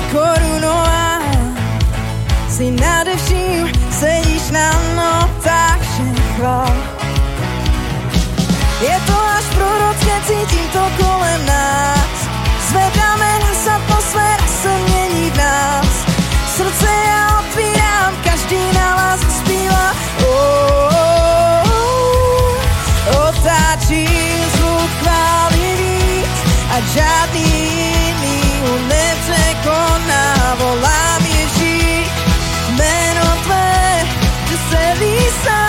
korunová. Si nade vším, sedíš na notách, všem chvál. Je to až prorocké, cítim to kolem nás. Zvedáme nás, atmosféra se mění v nás. Srdce já otvírám, každý na vás zpívá. Otáčím zvuk chvály víc a žádný jiný ho nepřekoná. Volám Ježíš, jméno tvé, že se lísá.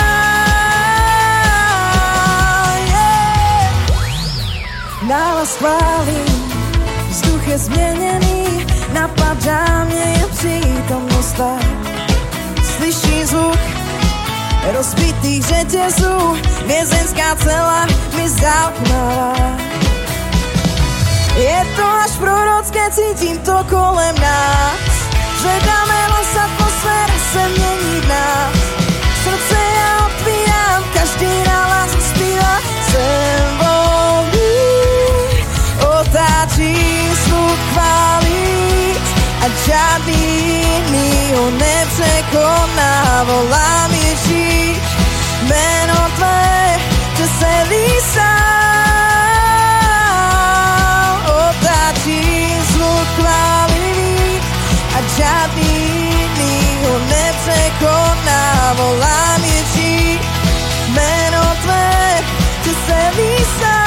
Nálaz chválí, vzduch je změněný, napadá mě je přítomnost tvá. Slyší zvuk rozbitých řetězů, vězenská cela mi zauknala. Je to až prorocké, cítím to kolem nás. Zvedáme hlas, atmosféra se mění v nás. Srdce já otvírám, každý nálaz zpívá. Jsem volný, otáčím zvuk chvály a žádný jiný ho nepřekoná. Volám Ježíš, jméno tvé, že se lísá. Otáčím zvuk chvály a žádný jiný ho nepřekoná. Volám Ježíš, jméno tvé, že se lísá.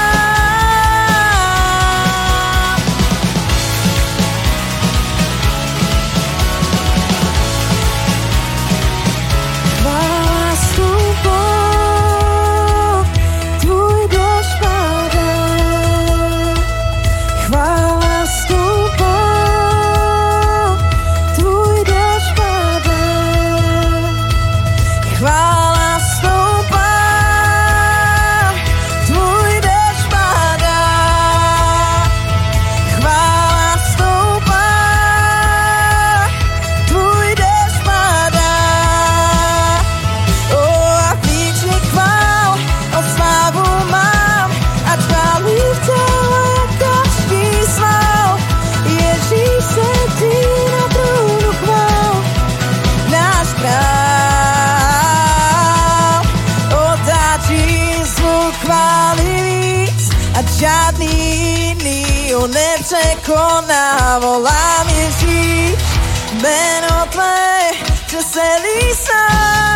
Žádný jiný ho nepřekoná. Volám Ježíš, jméno tvé, že se lísá.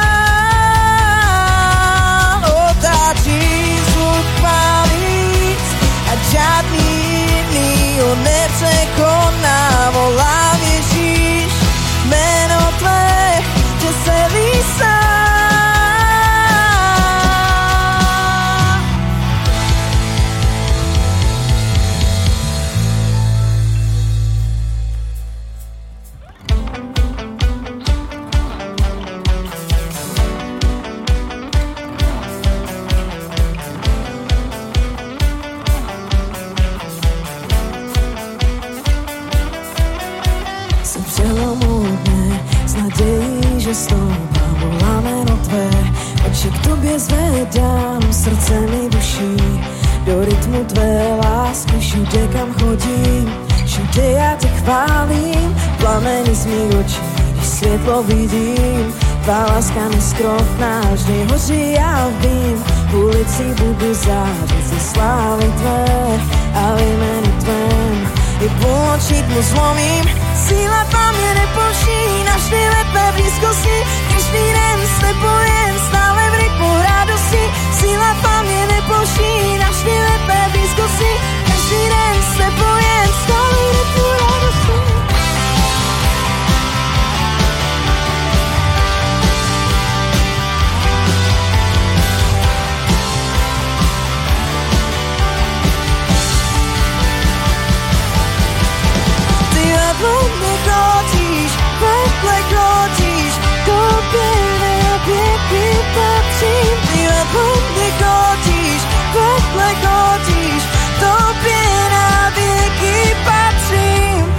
Otáčí zvuk chvály a žádný jiný ho nepřekoná. Volám Ježíš, jméno tvé, že se lísá. Stoupám, volám jméno tvé, oči k tobě zvedám, srdce mi duší, do rytmu tvé lásky, všude kam chodím, všude já tě chválím, plameny z mých očí, když světlo vidím, tvá láska neskrotná, vždy hoří, já vím, v ulici budu zářit ze slávy tvé a v jménu tvém, i půl tmu zlomím, síla tvá mě nepouští, navždy ve tvé blízkosti, každý den s tebou jen stále v rytmu radosti, síla tvá mě nepouští, navždy ve tvé blízkosti, každý den s tebou jen stále v rytmu radosti. Vedle chodíš, tobě na věky patřím. Ty vedle chodíš, tobě na věky patřím.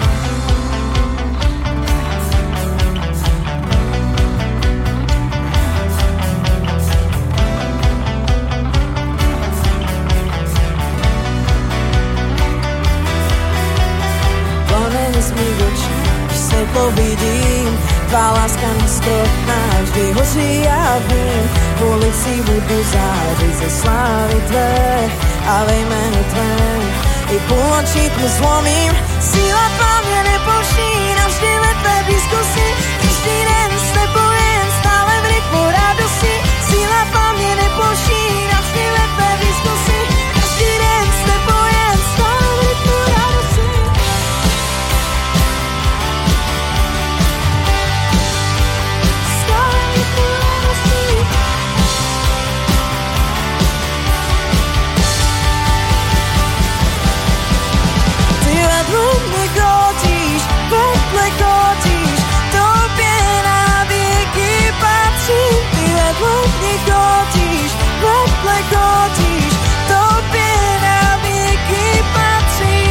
z mých očí, když světlo vidím, tvá láska neskrotná vždy hoří a vím, v ulici budu zářit ze slávy tvé a ve jménu tvém i půlnoční tmu zlomím. Síla tvá mě nepouští, navždy ve tvé blízkosti, každý den s tebou jen stále v rytmu radosti. Síla tvá mě nepouští, navždy ve tvé blízkosti, každý den s tebou jen stále v rytmu radosti. Stále v rytmu radosti. Ty vedle mě chodíš, vedle chodíš, tobě na věky patří. Ty vedle mě chodíš, vedle chodíš, tobě na věky patří.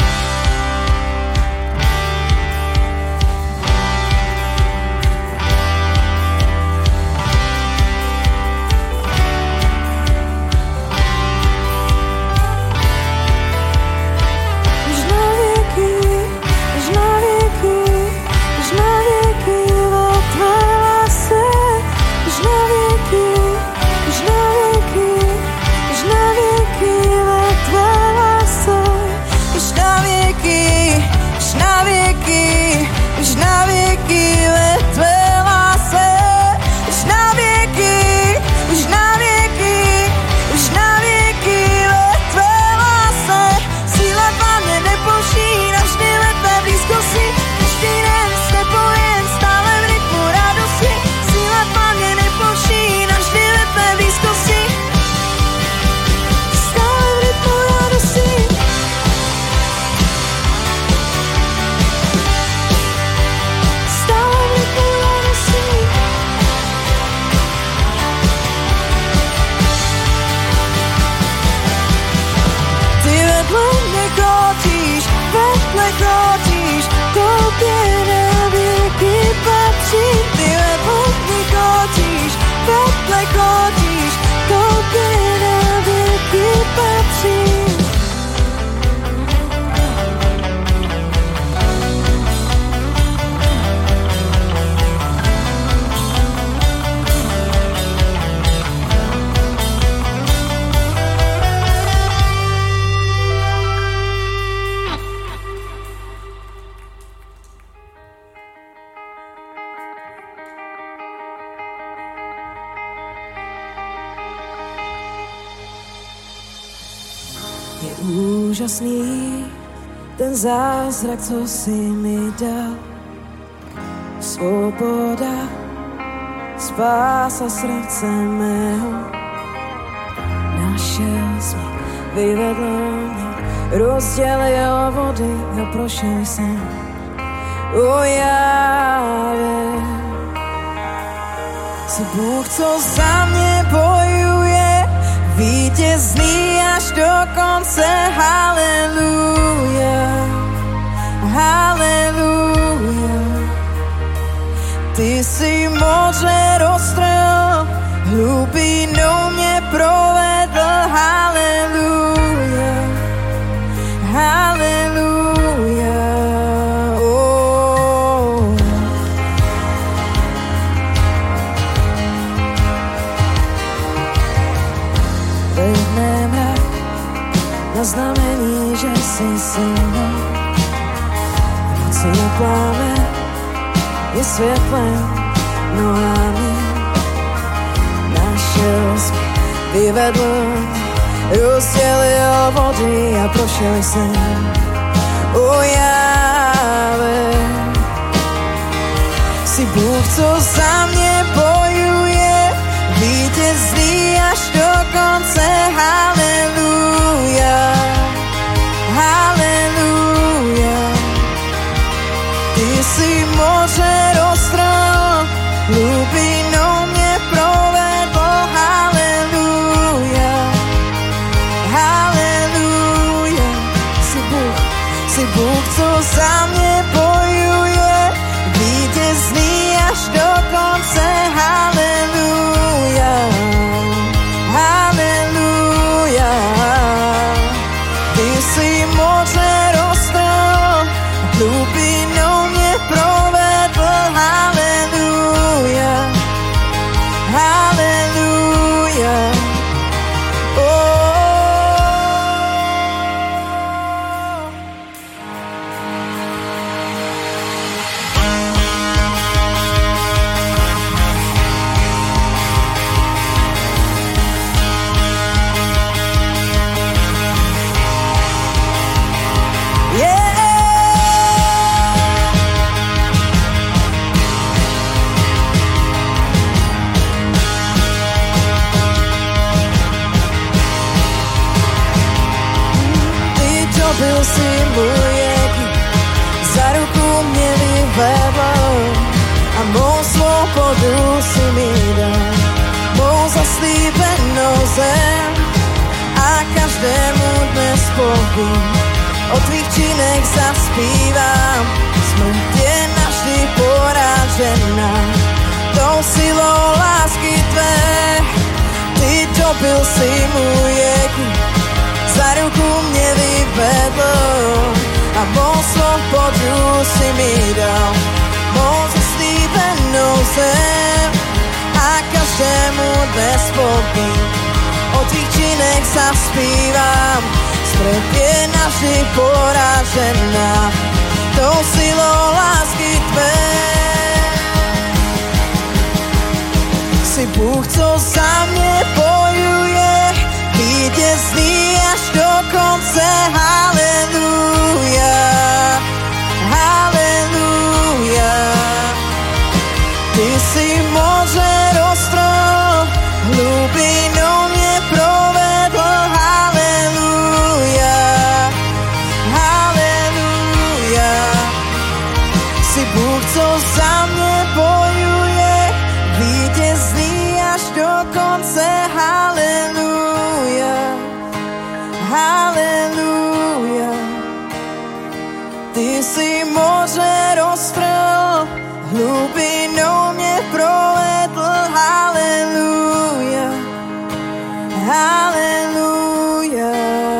Až na věky, až na věky, až na věky ve tvé lásce. Až na věky, až na věky, až na věky ve tvé lásce. Až na věky, až na věky, až na věky ve tvé lásce. Až na věky, až na věky, až na věky ve tvé lásce. Síla tvá mě nepouští, navždy ve tvé blízkosti, každý den s tebou jen stále v rytmu radosti. Síla tvá mě nepouští, navždy ve tvé blízkosti, stále v rytmu radosti. Stále v rytmu radosti. Ty vedle mě chodíš, tobě na věky patří. Ty vedle mě chodíš, tobě na věky patří. Je úžasný ten zázrak, co jsi mi dal. Svoboda, spása srdce mého. Našel jsi mě, vyvedl mě, rozdělil vody a prošel jsem. O Jáve, jsi Bůh, co za mě bojuje, vítězný až do konce. Haleluja, haleluja. Ty jsi moře roztrhl, hlubinou mě provedl. Haleluja, haleluja. Oh. Vedne mrak na znamení, že jsi se mnou. V noci je plámen, je světlem nohami. Našel jsi, vyvedl, rozdělil vody a prošel jsem. O Jáve, jsi Bůh, co za mě bojuje, vítězný až do konce. Haleluja, haleluja. Ty jsi moře roztrhl, hlubinou mě provedl. Haleluja, haleluja. Jsi Bůh, co za mě bojuje, vítězný až do konce. Haleluja, haleluja. Ty jsi moře roztrhl, hlubinou si můj jeký, za ruku mě vyvedl a mou svobodu si mi dal, mou zaslíbenou zem a každému dnes povím, o tvých činech zaspívám, smrt je navždy poražená, tou silou lásky tvé, ty dobil si můj jeký, za ruku mě vyvedl a mou svobodu si mi dal, mou zaslíbenou zem a každému dnes povím, o tvých činech zaspívám, smrt je navždy poražená, tou silou lásky tvé. Jsi Bůh, co za mě bojuje, vítězný až do konce, haleluja, haleluja. Ty jsi moře roztrhl, hlubinou mě provedl, haleluja, haleluja. Jsi Bůh, co za mě bojuje, vítězný až do konce, haleluja, haleluja. Ty jsi moře roztrhl, hlubinou mě provedl, haleluja, haleluja.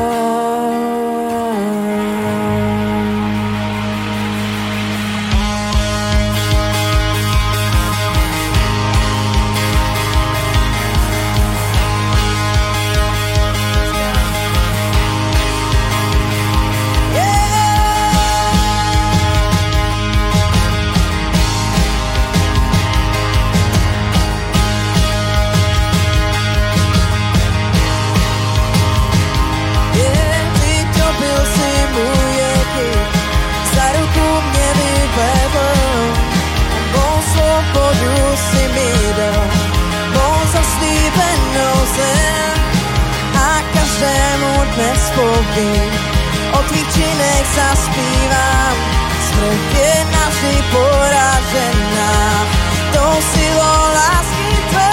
A každému dnes povím, o tvých činech zaspívám, smrt je navždy poražená, tou silou lásky tvé.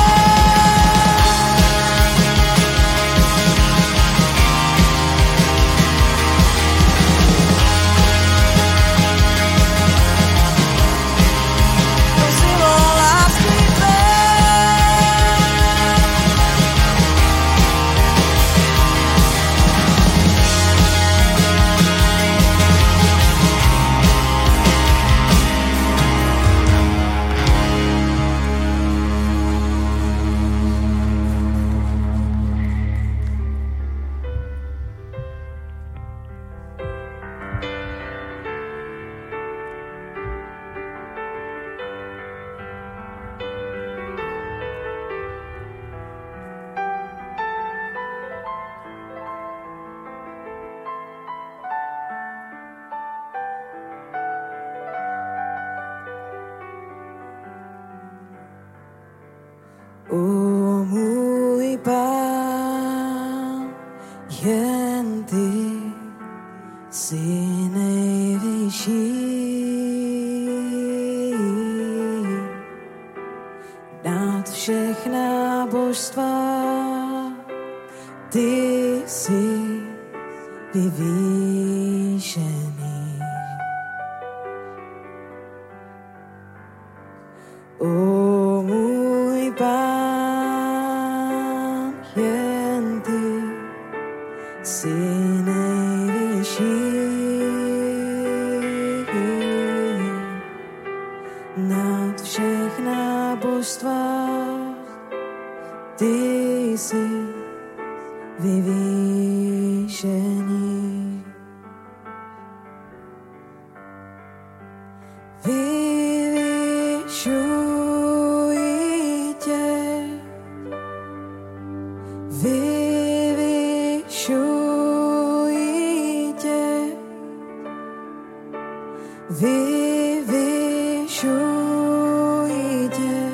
O můj Pán, jen ty jsi nejvyšší. Nad všechna božstva ty jsi vyvýšený. O můj Pán, jen ty jsi nejvyšší. Nad všechna božstva ty jsi vyvýšený. Vyvyšuji tě, vyvyšuji tě, vyvyšuji tě.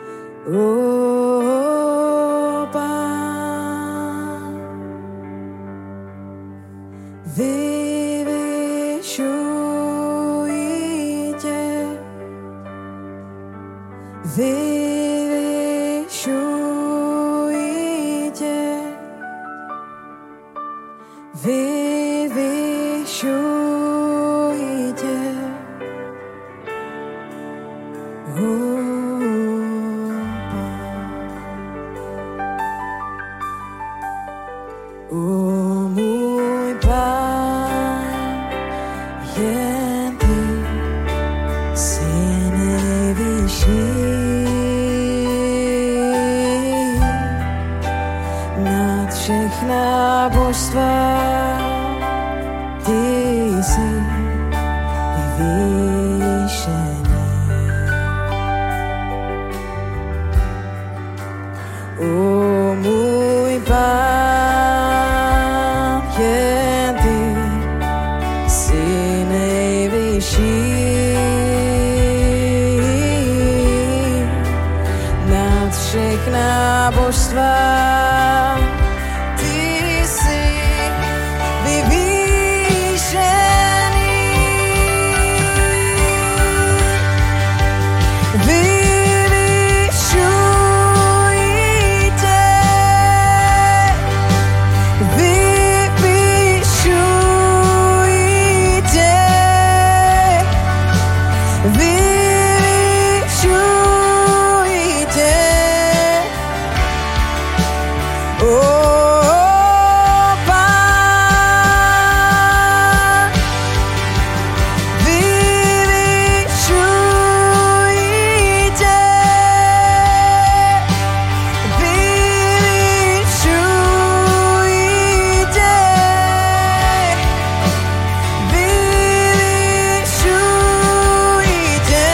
O Pán, jen ty jsi nejvyšší. Nad všechna božstva ty jsi vyvýšený. O můj Pán, jen ty jsi nejvyšší. Nad všechna božstva ty jsi vyvýšený. Vyvyšuji tě, vyvyšuji tě, vyvyšuji tě. Pán, vyvyšuji tě, vyvyšuji tě, vyvyšuji tě.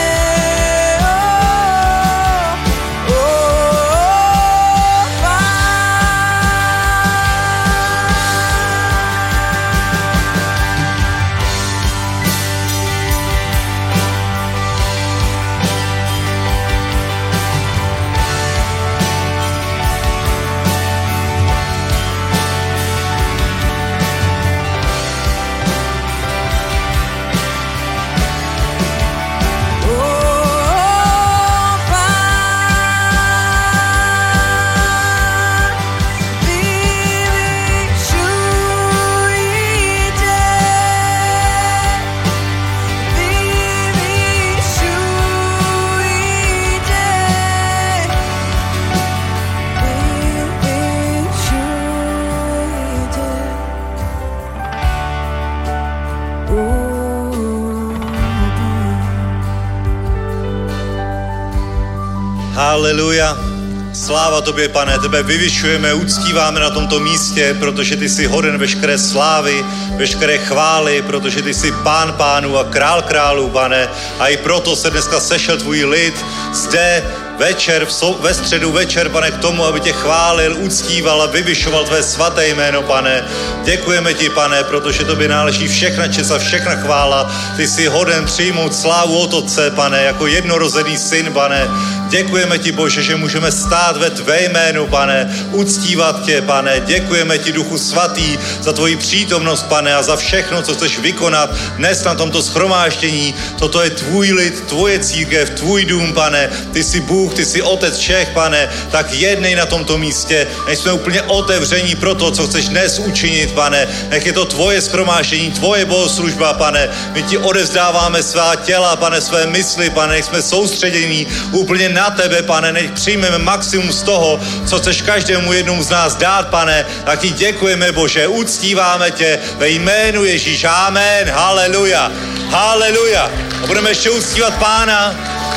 Haleluja. Sláva tobě, Pane, tebe vyvyšujeme, uctíváme na tomto místě, protože ty jsi hoden veškeré slávy, veškeré chvály, protože ty jsi Pán pánů a Král králů, Pane. A i proto se dneska sešel tvůj lid zde večer, ve středu večer, Pane, k tomu, aby tě chválil, uctíval a vyvyšoval tvé svaté jméno, Pane. Děkujeme ti, Pane, protože tobě náleží všechna čest a všechna chvála. Ty jsi hoden přijmout slávu od Otce, Pane, jako jednorozený syn, Pane. Děkujeme ti, Bože, že můžeme stát ve tvé jménu, Pane, uctívat tě, Pane. Děkujeme ti, Duchu svatý, za tvoji přítomnost, Pane, a za všechno, co chceš vykonat dnes na tomto shromáždění. Toto je tvůj lid, tvoje církev, tvůj dům, Pane. Ty jsi Bůh, ty jsi Otec všech, Pane. Tak jednej na tomto místě, než jsme úplně otevření pro to, co chceš dnes učinit, Pane. Nech je to tvoje shromáždění, tvoje bohoslužba, Pane. My ti odevzdáváme svá těla, Pane, své mysli, Pane. Nech jsme soustředění úplně na tebe, Pane. Nech přijmeme maximum z toho, co chceš každému jednomu z nás dát, Pane. Tak ti děkujeme, Bože, uctíváme tě ve jménu Ježíš. Amen. Haleluja. Haleluja. A budeme ještě uctívat Pána,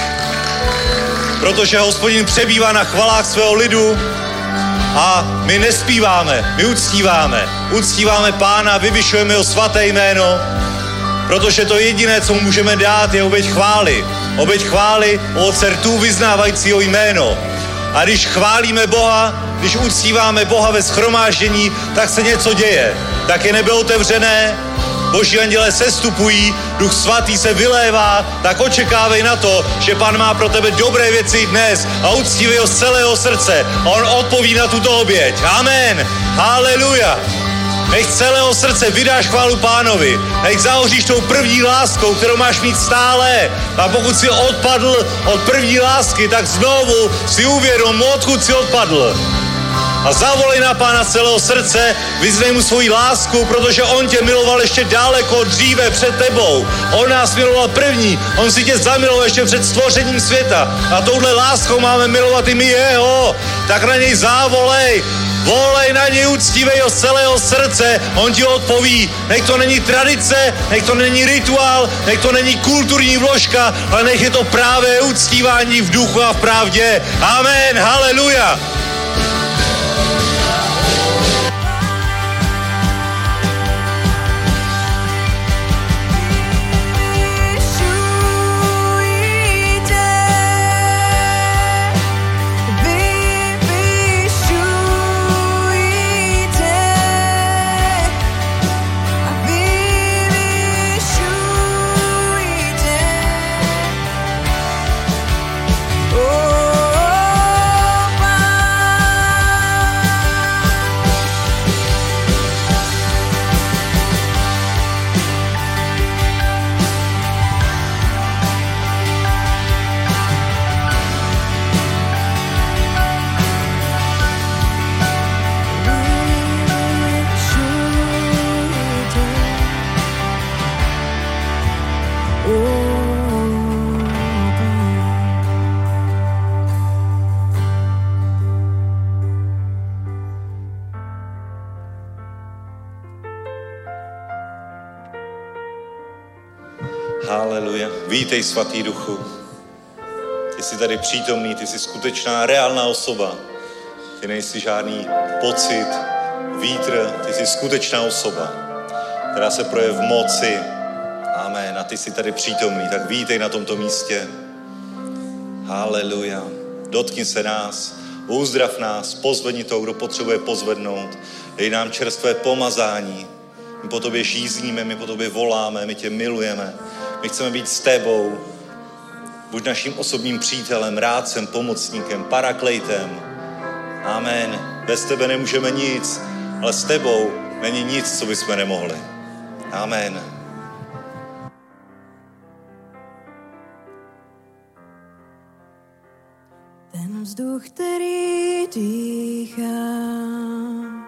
protože Hospodin přebývá na chvalách svého lidu a my nespíváme, my uctíváme. Uctíváme Pána, vyvyšujeme jeho svaté jméno, protože to jediné, co mu můžeme dát, je oběť chvály. Oběť chvály od srdců vyznávajícího jméno. A když chválíme Boha, když uctíváme Boha ve shromáždění, tak se něco děje. Tak je nebe otevřené, Boží anděle sestupují, Duch svatý se vylévá, tak očekávej na to, že Pán má pro tebe dobré věci dnes a uctívej ho z celého srdce. A on odpoví na tuto oběť. Amen. Haleluja. Nech z celého srdce vydáš chválu Pánovi. Nech zahoříš tou první láskou, kterou máš mít stále. A pokud si odpadl od první lásky, tak znovu si uvědom, odkud si odpadl. A zavolej na Pána z celého srdce, vyznej mu svoji lásku, protože on tě miloval ještě daleko dříve před tebou. On nás miloval první, on si tě zamiloval ještě před stvořením světa. A touhle láskou máme milovat i my jeho. Tak na něj zavolej, Volej na něj uctívej z celého srdce, on ti odpoví. Nech to není tradice, nech to není rituál, nech to není kulturní vložka, ale nech je to právě uctívání v duchu a v pravdě. Amen, haleluja. Haleluja. Vítej, svatý duchu. Ty jsi tady přítomný, ty jsi skutečná, reálná osoba. Ty nejsi žádný pocit, vítr, ty jsi skutečná osoba, která se projeví v moci. Amen. A ty jsi tady přítomný, tak vítej na tomto místě. Haleluja. Dotkni se nás, uzdrav nás, pozvedni toho, kdo potřebuje pozvednout. Dej nám čerstvé pomazání. My po tobě žízníme, my po tobě voláme, my tě milujeme. My chceme být s tebou. Buď naším osobním přítelem, rádcem, pomocníkem, paraklejtem. Amen. Bez tebe nemůžeme nic, ale s tebou není nic, co bychom nemohli. Amen. Ten vzduch, který dýchám,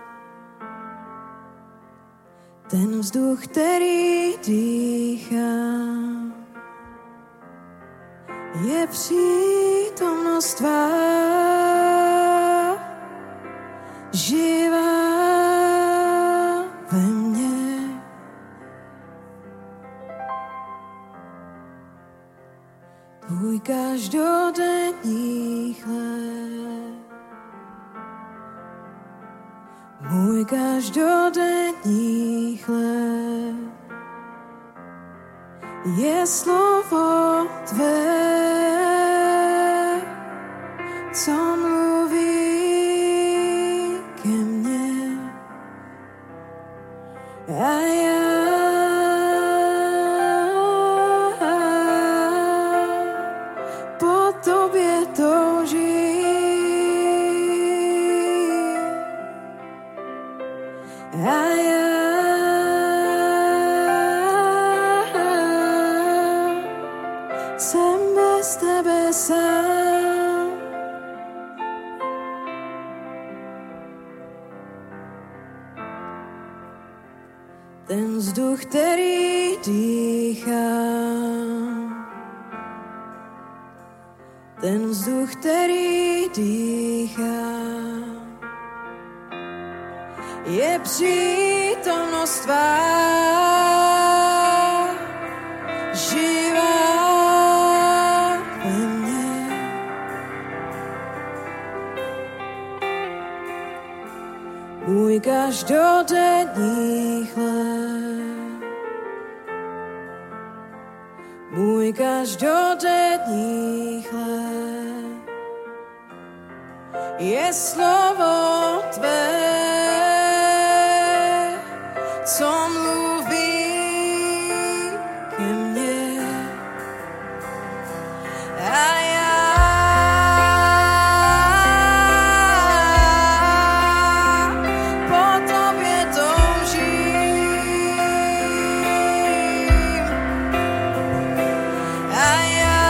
ten vzduch, který dýchám, je přítomnost tvá, živá ve mně. Tvůj každodenní chléb, můj každodenní chléb, je slovo tvé, co mluví ke mně. A já po tobě toužím. A já jsem bez tebe sám. Ten vzduch, který dýchám, ten vzduch, který dýchám, je přítomnost tvá, živá ve mně. Můj každodenní chléb, můj každodenní chléb, je slovo tvé, co mluví ke mně. A já po tobě toužím. A já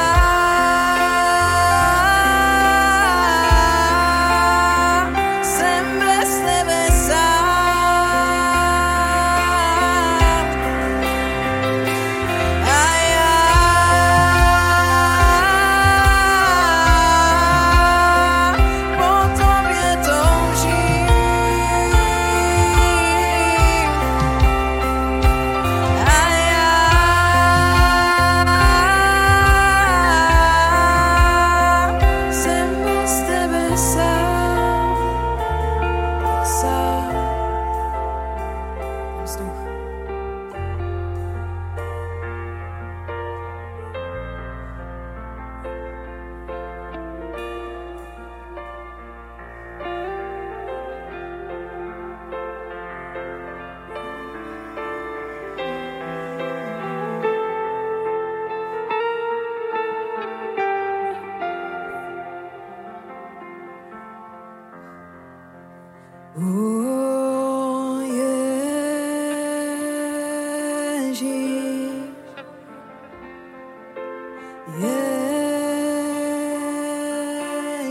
jsem bez tebe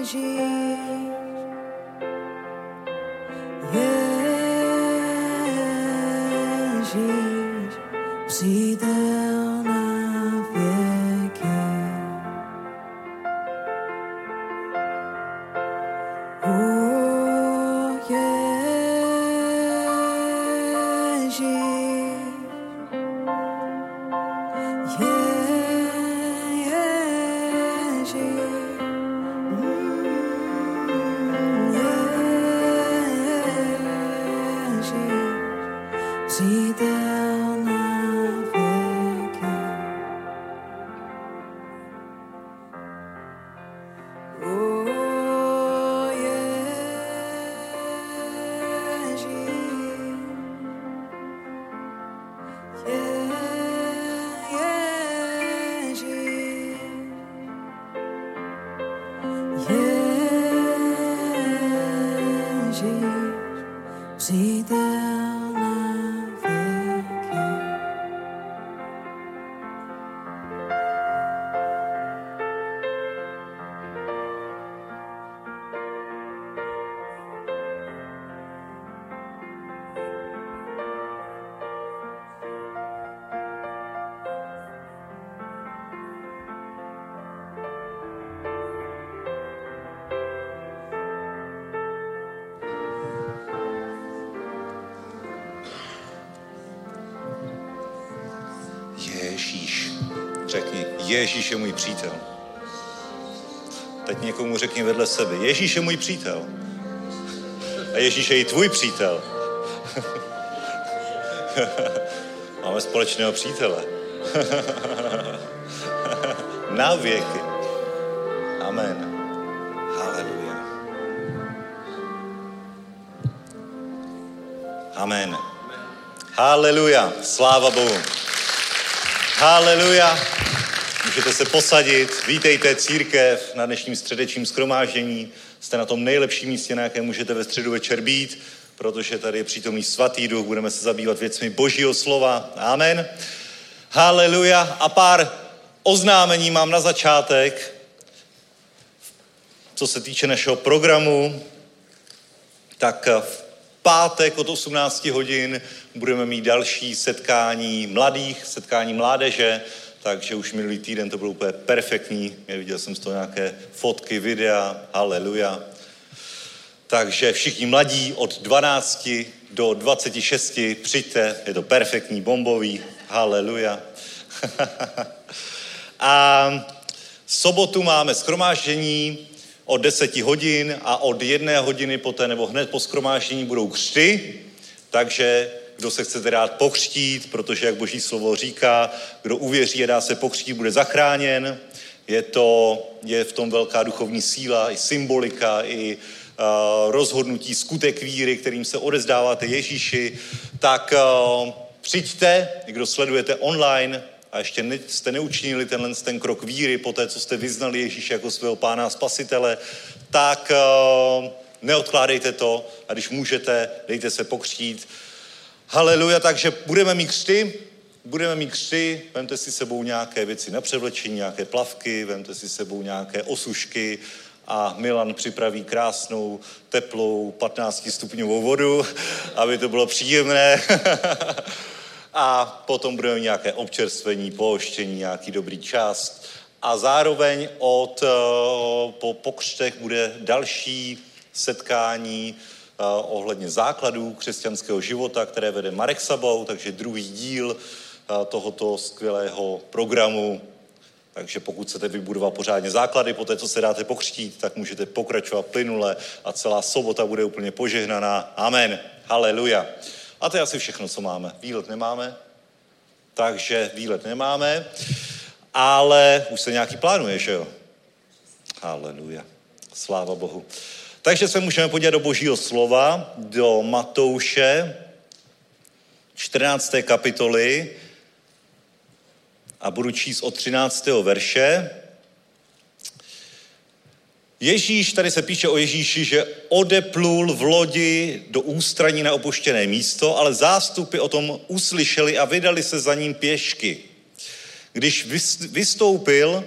Ježíš, přítel na věky. Přítel na věky. Přítel na věky. Ježíš. Řekni, Ježíš je můj přítel. Teď někomu řekni vedle sebe, Ježíš je můj přítel. A Ježíš je i tvůj přítel. Máme společného přítele. Na věky. Amen. Haleluja. Amen. Haleluja. Sláva Bohu. Haleluja. Můžete se posadit. Vítejte církev na dnešním středečním shromáždění. Jste na tom nejlepším místě, na jakém můžete ve středu večer být, protože tady je přítomný svatý duch. Budeme se zabývat věcmi Božího slova. Amen. Haleluja. A pár oznámení mám na začátek, co se týče našeho programu. Tak v pátek od 18 hodin budeme mít další setkání mladých, setkání mládeže, takže už minulý týden to bylo úplně perfektní. Viděl jsem z toho nějaké fotky, videa, haleluja. Takže všichni mladí od 12 do 26 přijďte, je to perfektní, bombový, haleluja. A sobotu máme shromáždění od 10 hodin a od 1 hodiny poté nebo hned po shromáždění budou křty, takže kdo se chcete rád pokřtít, protože jak Boží slovo říká, kdo uvěří a dá se pokřtít, bude zachráněn. Je v tom velká duchovní síla, i symbolika, i rozhodnutí, skutek víry, kterým se odezdáváte Ježíši. Tak přijďte, kdo sledujete online a ještě jste neučinili ten krok víry po té, co jste vyznali Ježíše jako svého pána a spasitele, tak neodkládejte to a když můžete, dejte se pokřtít. Haleluja, takže budeme mít křty, vemte si sebou nějaké věci na převlečení, nějaké plavky, vemte si sebou nějaké osušky a Milan připraví krásnou, teplou, 15 stupňovou vodu, aby to bylo příjemné. A potom budeme mít nějaké občerstvení, pooštění, nějaký dobrý čas. A zároveň po křtech bude další setkání ohledně základů křesťanského života, které vede Marek Sabou, takže druhý díl tohoto skvělého programu. Takže pokud chcete vybudovat pořádně základy, po té, co se dáte pokřtít, tak můžete pokračovat plynule a celá sobota bude úplně požehnaná. Amen. Haleluja. A to je asi všechno, co máme. Výlet nemáme, ale už se nějaký plánuje, že jo? Haleluja. Sláva Bohu. Takže se můžeme podívat do Božího slova, do Matouše, 14. kapitoly a budu číst od 13. verše. Ježíš, tady se píše o Ježíši, že odeplul v lodi do ústraní na opuštěné místo, ale zástupy o tom uslyšeli a vydali se za ním pěšky. Když vystoupil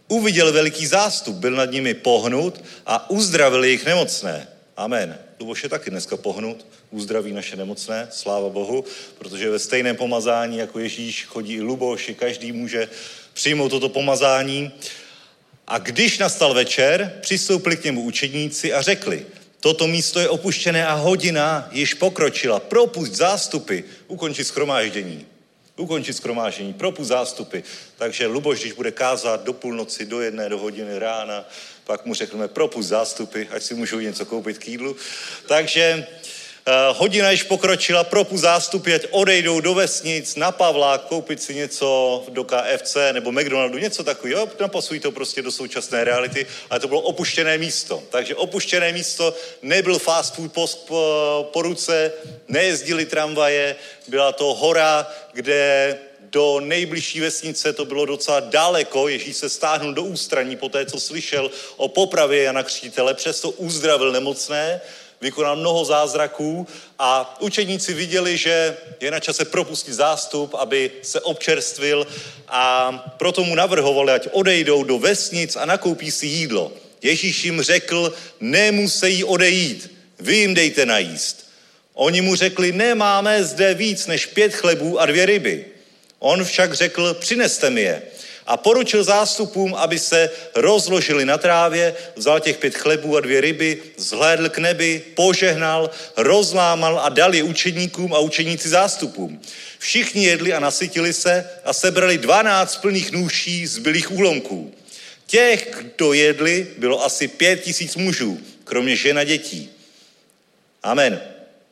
Uviděl veliký zástup, byl nad nimi pohnut a uzdravil jejich nemocné. Amen. Luboš je taky dneska pohnut, uzdraví naše nemocné, sláva Bohu, protože ve stejném pomazání jako Ježíš chodí i Luboš, i každý může přijmout toto pomazání. A když nastal večer, přistoupili k němu učedníci a řekli, toto místo je opuštěné a hodina již pokročila, propusť zástupy, ukončit shromáždění, propusť zástupy. Takže Luboš, když bude kázat do půlnoci, do 1, do hodiny rána, pak mu řekneme propusť zástupy, ať si můžou něco koupit k jídlu. Takže hodina již pokročila, propusť zástupy, ať odejdou do vesnic, na Pavla, koupit si něco do KFC nebo McDonaldu, něco takového, napasují to prostě do současné reality, ale to bylo opuštěné místo. Takže opuštěné místo, nebyl fast food po ruce, nejezdili tramvaje, byla to hora, kde do nejbližší vesnice to bylo docela daleko, Ježíš se stáhnul do ústraní po té, co slyšel o popravě Jana Křtitele, přesto uzdravil nemocné, vykonal mnoho zázraků a učedníci viděli, že je na čase propustit zástup, aby se občerstvil a proto mu navrhovali, ať odejdou do vesnic a nakoupí si jídlo. Ježíš jim řekl, nemusejí odejít, vy jim dejte najíst. Oni mu řekli, nemáme zde víc než 5 chlebů a 2 ryby. On však řekl, přineste mi je. A poručil zástupům, aby se rozložili na trávě, vzal těch 5 chlebů a 2 ryby, zhlédl k nebi, požehnal, rozlámal a dal je učedníkům a učedníci zástupům. Všichni jedli a nasytili se a sebrali 12 plných nůší zbylých úlomků. Těch, kdo jedli, bylo asi 5 000 mužů, kromě žen a dětí. Amen.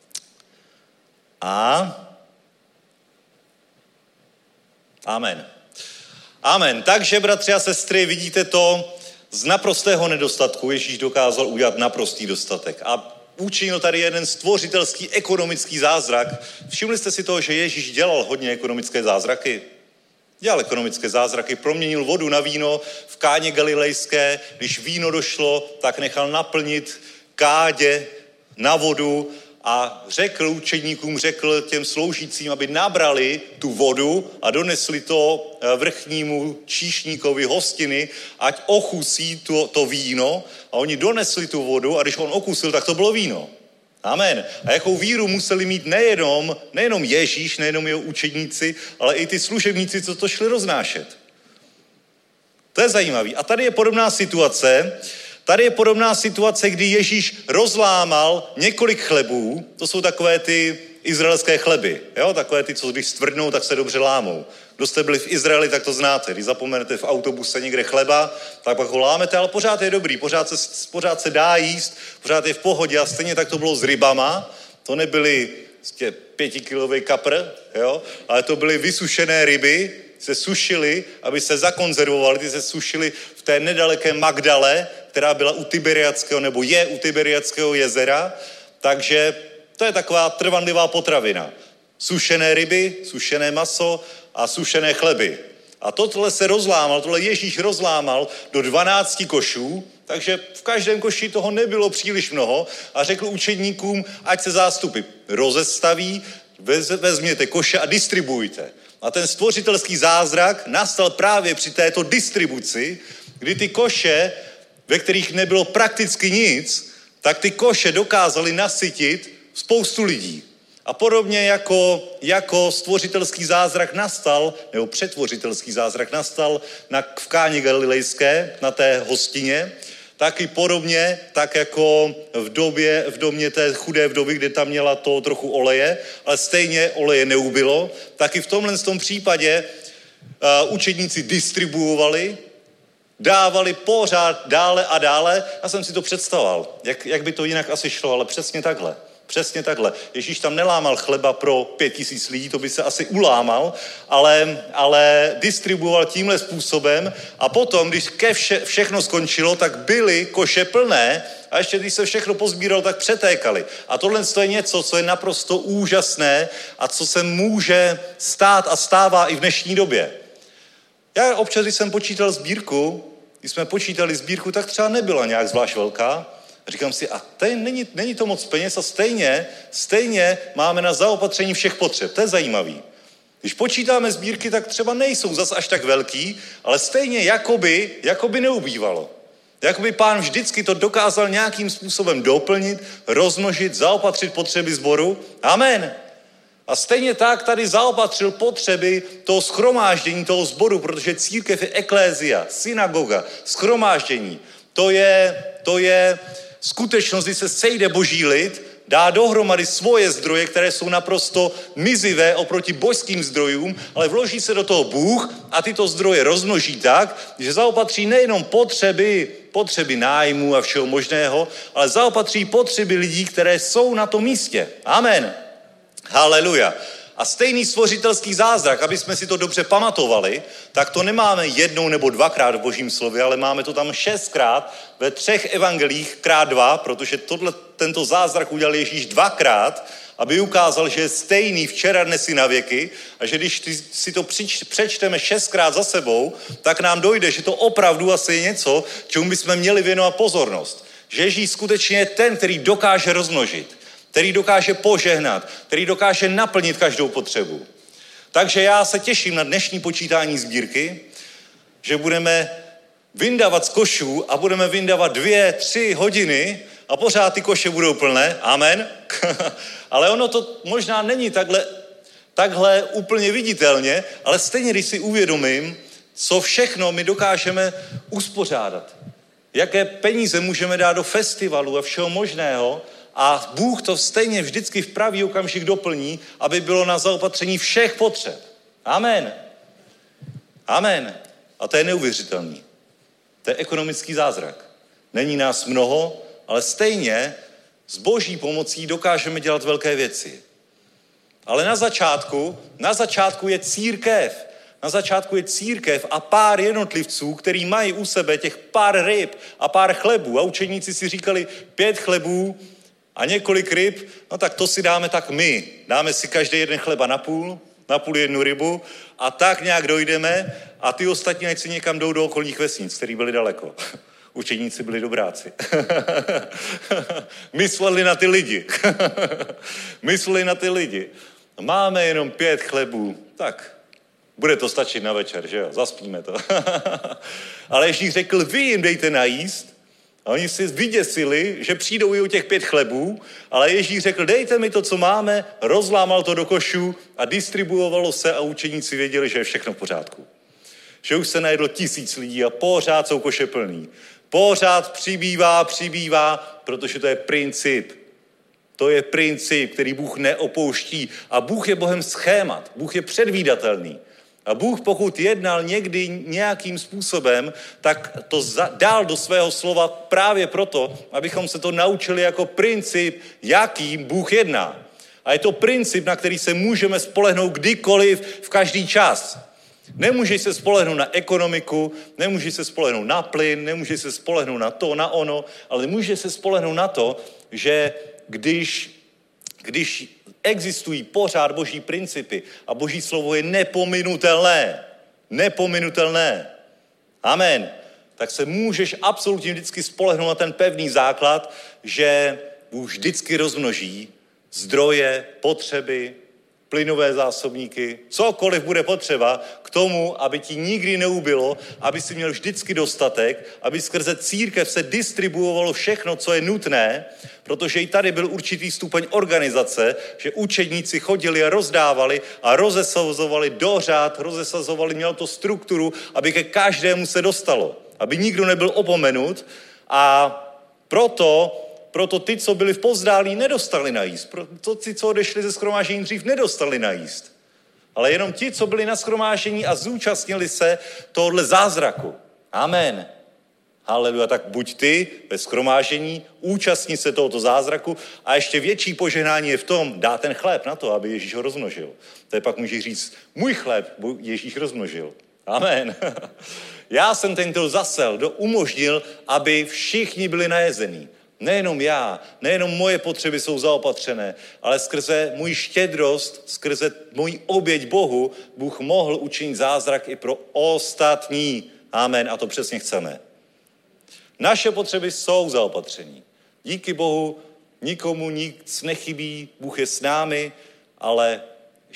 Amen. Takže, bratři a sestry, vidíte to, z naprostého nedostatku Ježíš dokázal udělat naprostý dostatek. A učinil tady jeden stvořitelský ekonomický zázrak. Všimli jste si toho, že Ježíš dělal hodně ekonomické zázraky? Dělal ekonomické zázraky, proměnil vodu na víno v Káně Galilejské. Když víno došlo, tak nechal naplnit kádě na vodu a řekl učedníkům, řekl těm sloužícím, aby nabrali tu vodu a donesli to vrchnímu číšníkovi hostiny, ať ochusí to víno. A oni donesli tu vodu a když on okusil, tak to bylo víno. Amen. A jakou víru museli mít nejenom Ježíš, nejenom jeho učedníci, ale i ty služebníci, co to šli roznášet. To je zajímavý. A tady je podobná situace, kdy Ježíš rozlámal několik chlebů, to jsou takové ty izraelské chleby, jo? Takové ty, co když stvrdnou, tak se dobře lámou. Kdo jste byli v Izraeli, tak to znáte. Když zapomenete v autobuse někde chleba, tak pak ho lámete, ale pořád je dobrý, pořád se dá jíst, pořád je v pohodě a stejně tak to bylo s rybama, to nebyly 5kilový kapr, jo? Ale to byly vysušené ryby, se sušily, aby se zakonzervovaly, ty se sušily v té nedaleké Magdale, která byla u Tiberiadského, nebo je u Tiberiadského jezera, takže to je taková trvanlivá potravina. Sušené ryby, sušené maso a sušené chleby. A tohle Ježíš rozlámal do 12 košů, takže v každém koši toho nebylo příliš mnoho a řekl učedníkům, ať se zástupy rozestaví, vezměte koše a distribuujte. A ten stvořitelský zázrak nastal právě při této distribuci, kdy ty koše, ve kterých nebylo prakticky nic, tak ty koše dokázaly nasytit spoustu lidí. A podobně jako stvořitelský zázrak nastal, nebo přetvořitelský zázrak nastal v Káně Galilejské, na té hostině, tak i podobně, tak jako v domě té chudé vdovy, kde tam měla to trochu oleje, ale stejně oleje neubylo, tak i v tomhle případě učedníci distribuovali, dávali pořád dále a dále. Já jsem si to představoval, jak by to jinak asi šlo, ale přesně takhle. Přesně takhle. Ježíš tam nelámal chleba pro 5 000 lidí, to by se asi ulámal, ale distribuoval tímhle způsobem a potom, když všechno skončilo, tak byly koše plné a ještě když se všechno pozbíralo, tak přetékali. A tohle je něco, co je naprosto úžasné a co se může stát a stává i v dnešní době. Já občas, když jsem počítal sbírku, tak třeba nebyla nějak zvlášť velká. Říkám si, a není to moc peněz a stejně máme na zaopatření všech potřeb. To je zajímavý. Když počítáme sbírky, tak třeba nejsou zas až tak velký, ale stejně jakoby neubývalo. Jakoby Pán vždycky to dokázal nějakým způsobem doplnit, rozmnožit, zaopatřit potřeby sboru. Amen. A stejně tak tady zaopatřil potřeby toho shromáždění, toho sboru, protože církev je eklézia, synagoga, shromáždění. To je skutečnost, kdy se sejde boží lid, dá dohromady svoje zdroje, které jsou naprosto mizivé oproti božským zdrojům, ale vloží se do toho Bůh a tyto zdroje rozmnoží tak, že zaopatří nejenom potřeby nájmu a všeho možného, ale zaopatří potřeby lidí, které jsou na tom místě. Amen. Haleluja. A stejný stvořitelský zázrak, aby jsme si to dobře pamatovali, tak to nemáme jednou nebo dvakrát v Božím slově, ale máme to tam 6krát ve 3 evangelích krát 2, protože tento zázrak udělal Ježíš 2krát, aby ukázal, že je stejný včera, dnes i na věky a že když si to přečteme 6krát za sebou, tak nám dojde, že to opravdu asi je něco, čemu bychom měli věnovat pozornost. Že Ježíš skutečně je ten, který dokáže rozmnožit, který dokáže požehnat, který dokáže naplnit každou potřebu. Takže já se těším na dnešní počítání sbírky, že budeme vyndávat z košů a budeme vyndávat 2-3 hodiny a pořád ty koše budou plné. Amen. Ale ono to možná není takhle úplně viditelně, ale stejně, když si uvědomím, co všechno my dokážeme uspořádat. Jaké peníze můžeme dát do festivalu a všeho možného, a Bůh to stejně vždycky v pravý okamžik doplní, aby bylo na zaopatření všech potřeb. Amen. Amen. A to je neuvěřitelný. To je ekonomický zázrak. Není nás mnoho, ale stejně s boží pomocí dokážeme dělat velké věci. Ale na začátku je církev. Na začátku je církev a pár jednotlivců, který mají u sebe těch pár ryb a pár chlebů. A učeníci si říkali 5 chlebů a několik ryb, no tak to si dáme tak my. Dáme si každý jeden chleba na půl jednu rybu a tak nějak dojdeme a ty ostatní ať si někam jdou do okolních vesnic, který byly daleko. Učeníci byli dobráci. Mysleli na ty lidi. Máme jenom 5 chlebů, tak bude to stačit na večer, že jo? Zaspíme to. Ale Ježíš řekl, vy jim dejte najíst. A oni si vyděsili, že přijdou i o těch 5 chlebů, ale Ježíš řekl, dejte mi to, co máme, rozlámal to do košů a distribuovalo se a učeníci věděli, že je všechno v pořádku. Že už se najedlo 1000 lidí a pořád jsou koše plný. Pořád přibývá, protože to je princip. To je princip, který Bůh neopouští. A Bůh je Bohem schémat. Bůh je předvídatelný. A Bůh, pokud jednal někdy nějakým způsobem, tak to dal do svého slova právě proto, abychom se to naučili jako princip, jakým Bůh jedná. A je to princip, na který se můžeme spolehnout kdykoliv, v každý čas. Nemůžeš se spolehnout na ekonomiku, nemůžeš se spolehnout na plyn, nemůžeš se spolehnout na to, na ono, ale můžeš se spolehnout na to, že když existují pořád boží principy a boží slovo je nepominutelné. Amen. Tak se můžeš absolutně vždycky spolehnout na ten pevný základ, že Bůh vždycky rozmnoží zdroje, potřeby, plynové zásobníky, cokoliv bude potřeba k tomu, aby ti nikdy neubylo, aby si měl vždycky dostatek, aby skrze církev se distribuovalo všechno, co je nutné, protože i tady byl určitý stupeň organizace, že učedníci chodili a rozdávali a rozesazovali dořád, mělo to strukturu, aby ke každému se dostalo, aby nikdo nebyl opomenut a proto ty, co byli v povzdálí, nedostali najíst. Proto ti, co odešli ze shromáždění dřív, nedostali najíst. Ale jenom ti, co byli na shromáždění a zúčastnili se tohohle zázraku. Amen. Haleluja. Tak buď ty ve shromáždění, účastní se tohoto zázraku a ještě větší požehnání je v tom, dá ten chléb na to, aby Ježíš ho rozmnožil. To je pak může říct, můj chléb Ježíš rozmnožil. Amen. Já jsem ten, kdo zasel, umožnil, aby všichni byli najezení. Nejenom já, nejenom moje potřeby jsou zaopatřené, ale skrze můj štědrost, skrze můj oběť Bohu, Bůh mohl učinit zázrak i pro ostatní. Amen. A to přesně chceme. Naše potřeby jsou zaopatření. Díky Bohu nikomu nic nechybí, Bůh je s námi, ale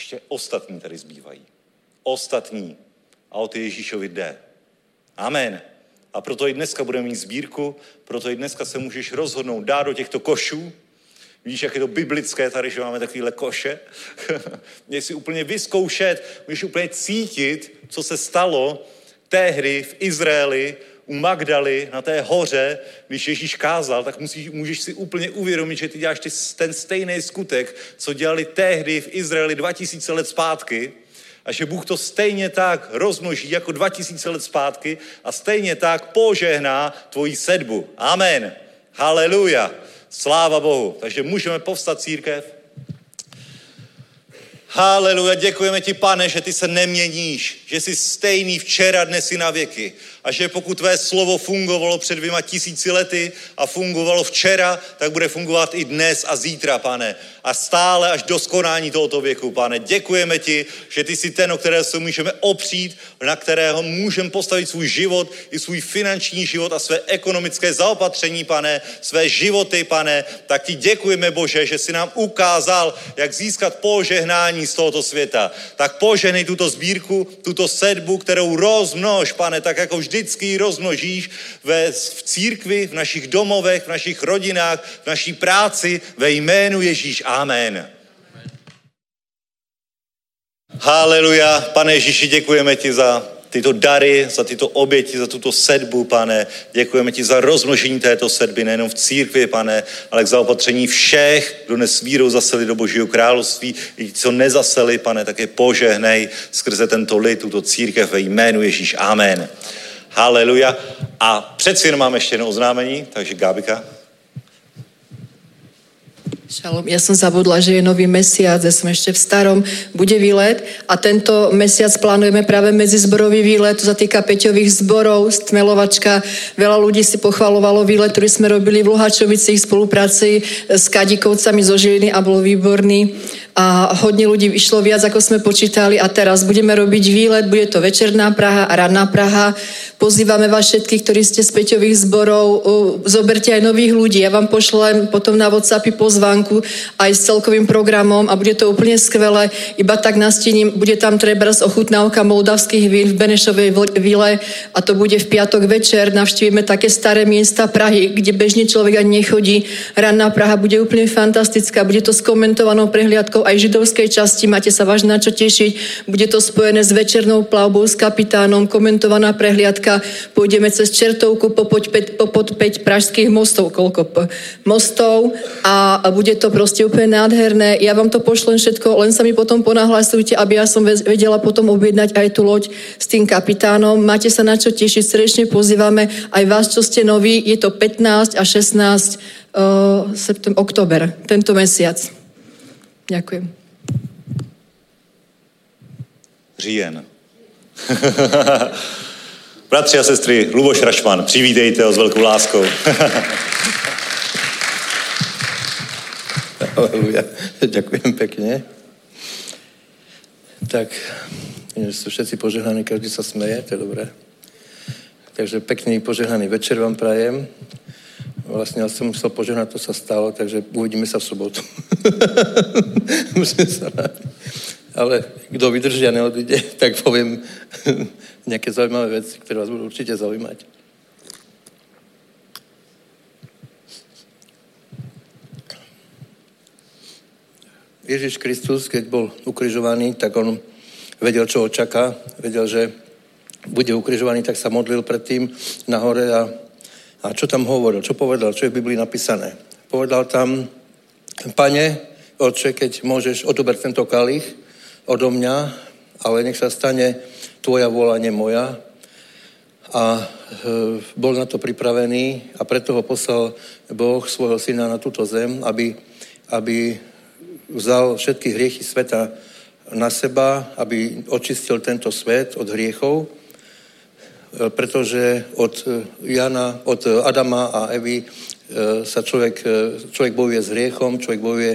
ještě ostatní tady zbývají. Ostatní. A o ty Ježíšovi jde. Amen. A proto i dneska budeme mít sbírku, proto i dneska se můžeš rozhodnout dát do těchto košů. Víš, jak je to biblické tady, že máme takovýhle koše? Můžeš si úplně vyzkoušet, můžeš úplně cítit, co se stalo tehdy v Izraeli, u Magdaly, na té hoře, když Ježíš kázal, tak můžeš si úplně uvědomit, že ty děláš ten stejný skutek, co dělali tehdy v Izraeli 2000 let zpátky, a že Bůh to stejně tak rozmnoží jako 2000 let zpátky a stejně tak požehná tvoji sedbu. Amen. Haleluja. Sláva Bohu. Takže můžeme povstat, církev. Haleluja, děkujeme ti, Pane, že ty se neměníš, že jsi stejný včera, dnes i na věky. A že pokud tvé slovo fungovalo před 2000 lety a fungovalo včera, tak bude fungovat i dnes a zítra, Pane. A stále až do skonání tohoto věku, Pane. Děkujeme ti, že ty jsi ten, o kterého se můžeme opřít, na kterého můžeme postavit svůj život, i svůj finanční život a své ekonomické zaopatření, Pane, své životy, Pane. Tak ti děkujeme, Bože, že jsi nám ukázal, jak získat požehnání z tohoto světa. Tak požehnej tuto sbírku, tuto sedbu, kterou rozmnož, Pane, tak jako vždycky ji rozmnožíš v církvi, v našich domovech, v našich rodinách, v naší práci, ve jménu Ježíš. Amen. Haleluja. Pane Ježíši, děkujeme ti za tyto dary, za tyto oběti, za tuto sedbu, Pane. Děkujeme ti za rozmnožení této sedby, nejenom v církvi, Pane, ale k zaopatření všech, kdo dnes vírou zaseli do Božího království. I ti, co nezaseli, Pane, tak je požehnej skrze tento lid, tuto církev ve jménu Ježíš. Amen. Haleluja. A přeci jen máme ještě jedno oznámení, takže Gábika. Šalom, ja som zabudla, že je nový mesiac, ja som ešte v starom, bude výlet a tento mesiac plánujeme práve medzizborový výlet, to sa týka Peťových zborov, Stmelovačka. Veľa ľudí si pochvalovalo výlet, ktorý sme robili v Luhačovici v spolupráci s Kadikovcami zo Žiliny a bol výborný. A hodne ľudí išlo viac, ako sme počítali a teraz budeme robiť výlet, bude to večerná Praha a ranná Praha. Pozývame vás všetkých, ktorí ste z Peťových zborov, zoberte aj nových ľudí. Ja vám pošlem potom na WhatsAppy pozvánku aj s celkovým programom a bude to úplne skvelé. Iba tak nastínim, bude tam trebárs ochutnávka moldavských vín v Benešovej vile a to bude v piatok večer. Navštívime také staré miesta Prahy, kde bežne človek ani nechodí. Ranná Praha bude úplne fantastická, bude to s komentovanou prehliadkou aj židovskej časti, máte sa vážne na čo tešiť. Bude to spojené s večernou plavbou s kapitánom, komentovaná prehliadka. Pôjdeme cez Čertovku popod 5 pražských mostov, mostov a bude to proste úplne nádherné. Ja vám to pošlem všetko, len sa mi potom ponahlasujte, aby ja som vedela potom objednať aj tú loď s tým kapitánom. Máte sa na čo tešiť, srdečne pozývame aj vás, čo ste noví. Je to 15 a 16 október, tento mesiac. Ďakujem. Říjen. Bratři a sestry, Luboš Rašman, přivítejte ho s velkou láskou. Aleluja. Ďakujem pekne. Tak, sú všetci požehnaní, každý sa smeje, to je dobré. Takže pekný požehnaný večer vám prajem. Vlastne ja som musel požehnať, to sa stalo, takže uvidíme sa v sobotu. Musím sa rádiť. Ale kto vydrží a neodíde, tak poviem nejaké zaujímavé veci, ktoré vás budú určite zaujímať. Ježiš Kristus, keď bol ukrižovaný, tak on vedel, čo ho čaká. Vedel, že bude ukrižovaný, tak sa modlil predtým nahore a čo tam hovoril, čo povedal, čo je v Biblii napísané. Povedal tam, Pane, Otče, keď môžeš, odober tento kalich odo mňa, ale nech sa stane tvoja vôľa, nie moja. A bol na to pripravený a preto ho poslal Boh svojho syna na túto zem, aby vzal všetky hriechy sveta na seba, aby očistil tento svet od hriechov, pretože od Adama a Evy sa človek bojuje s hriechom, človek bojuje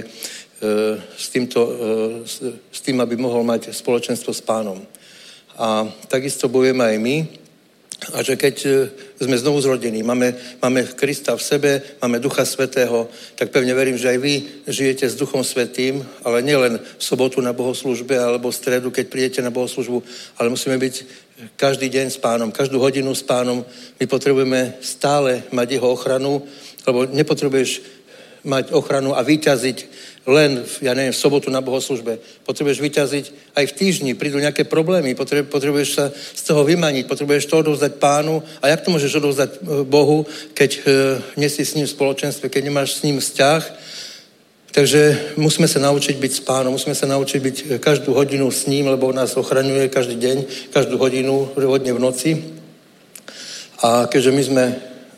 s tým, aby mohol mať spoločenstvo s Pánom. A takisto bojujeme aj my A že keď sme znovu zrodení, máme Krista v sebe, máme Ducha Svätého, tak pevne verím, že aj vy žijete s Duchom Svätým, ale nielen v sobotu na bohoslúžbe alebo v stredu, keď prídete na bohoslúžbu, ale musíme byť každý deň s Pánom, každú hodinu s Pánom. My potrebujeme stále mať jeho ochranu, lebo nepotrebuješ mať ochranu a vyťaziť len, v sobotu na bohoslúžbe. Potrebuješ vyťaziť aj v týždni, prídu nejaké problémy, potrebuješ sa z toho vymaniť, potrebuješ to odovzdať Pánu. A jak to môžeš odovzdať Bohu, keď nie si s ním v spoločenstve, keď nemáš s ním vzťah? Takže musíme sa naučiť byť s Pánom, musíme sa naučiť byť každú hodinu s ním, lebo nás ochraňuje každý deň, každú hodinu, hodne v noci. A keďže my sme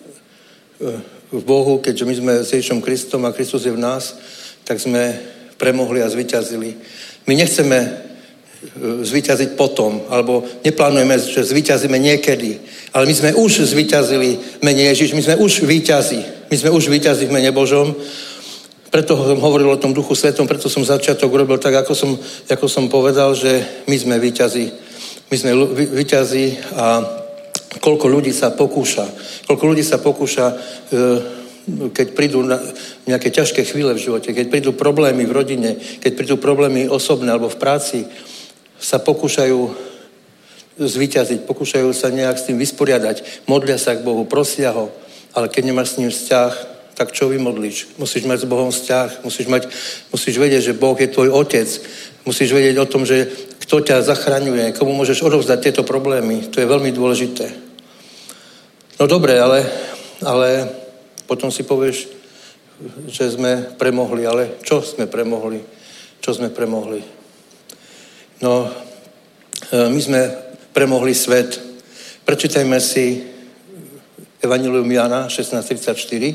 v Bohu, keďže my sme s Ježišom Kristom a Kristus je v nás, tak sme premohli a zvíťazili. My nechceme zvíťaziť potom, alebo neplánujeme, že zvíťazíme niekedy, ale my sme už zvíťazili v mene Ježiš, my sme už víťazi. My sme už víťazi v mene Božom. Preto som hovoril o tom Duchu Svetom, preto som začiatok urobil tak, ako som povedal, že my sme víťazi. My sme víťazi a koľko ľudí sa pokúša, keď prídu nejaké ťažké chvíle v živote, keď prídu problémy v rodine, keď prídu problémy osobné alebo v práci, sa pokúšajú zvíťaziť, pokúšajú sa nejak s tým vysporiadať, modlia sa k Bohu, prosia ho, ale keď nemáš s ním vzťah, tak čo vymodlíš? Musíš mať s Bohom vzťah, musíš vedieť, že Boh je tvoj otec, musíš vedieť o tom, že kto ťa zachraňuje, komu môžeš odovzdať tieto problémy, to je veľmi dôležité. No dobre, ale potom si povieš, že sme premohli, ale čo sme premohli? Čo sme premohli? No, my sme premohli svet. Prečítajme si Evangelium Jana 16:34.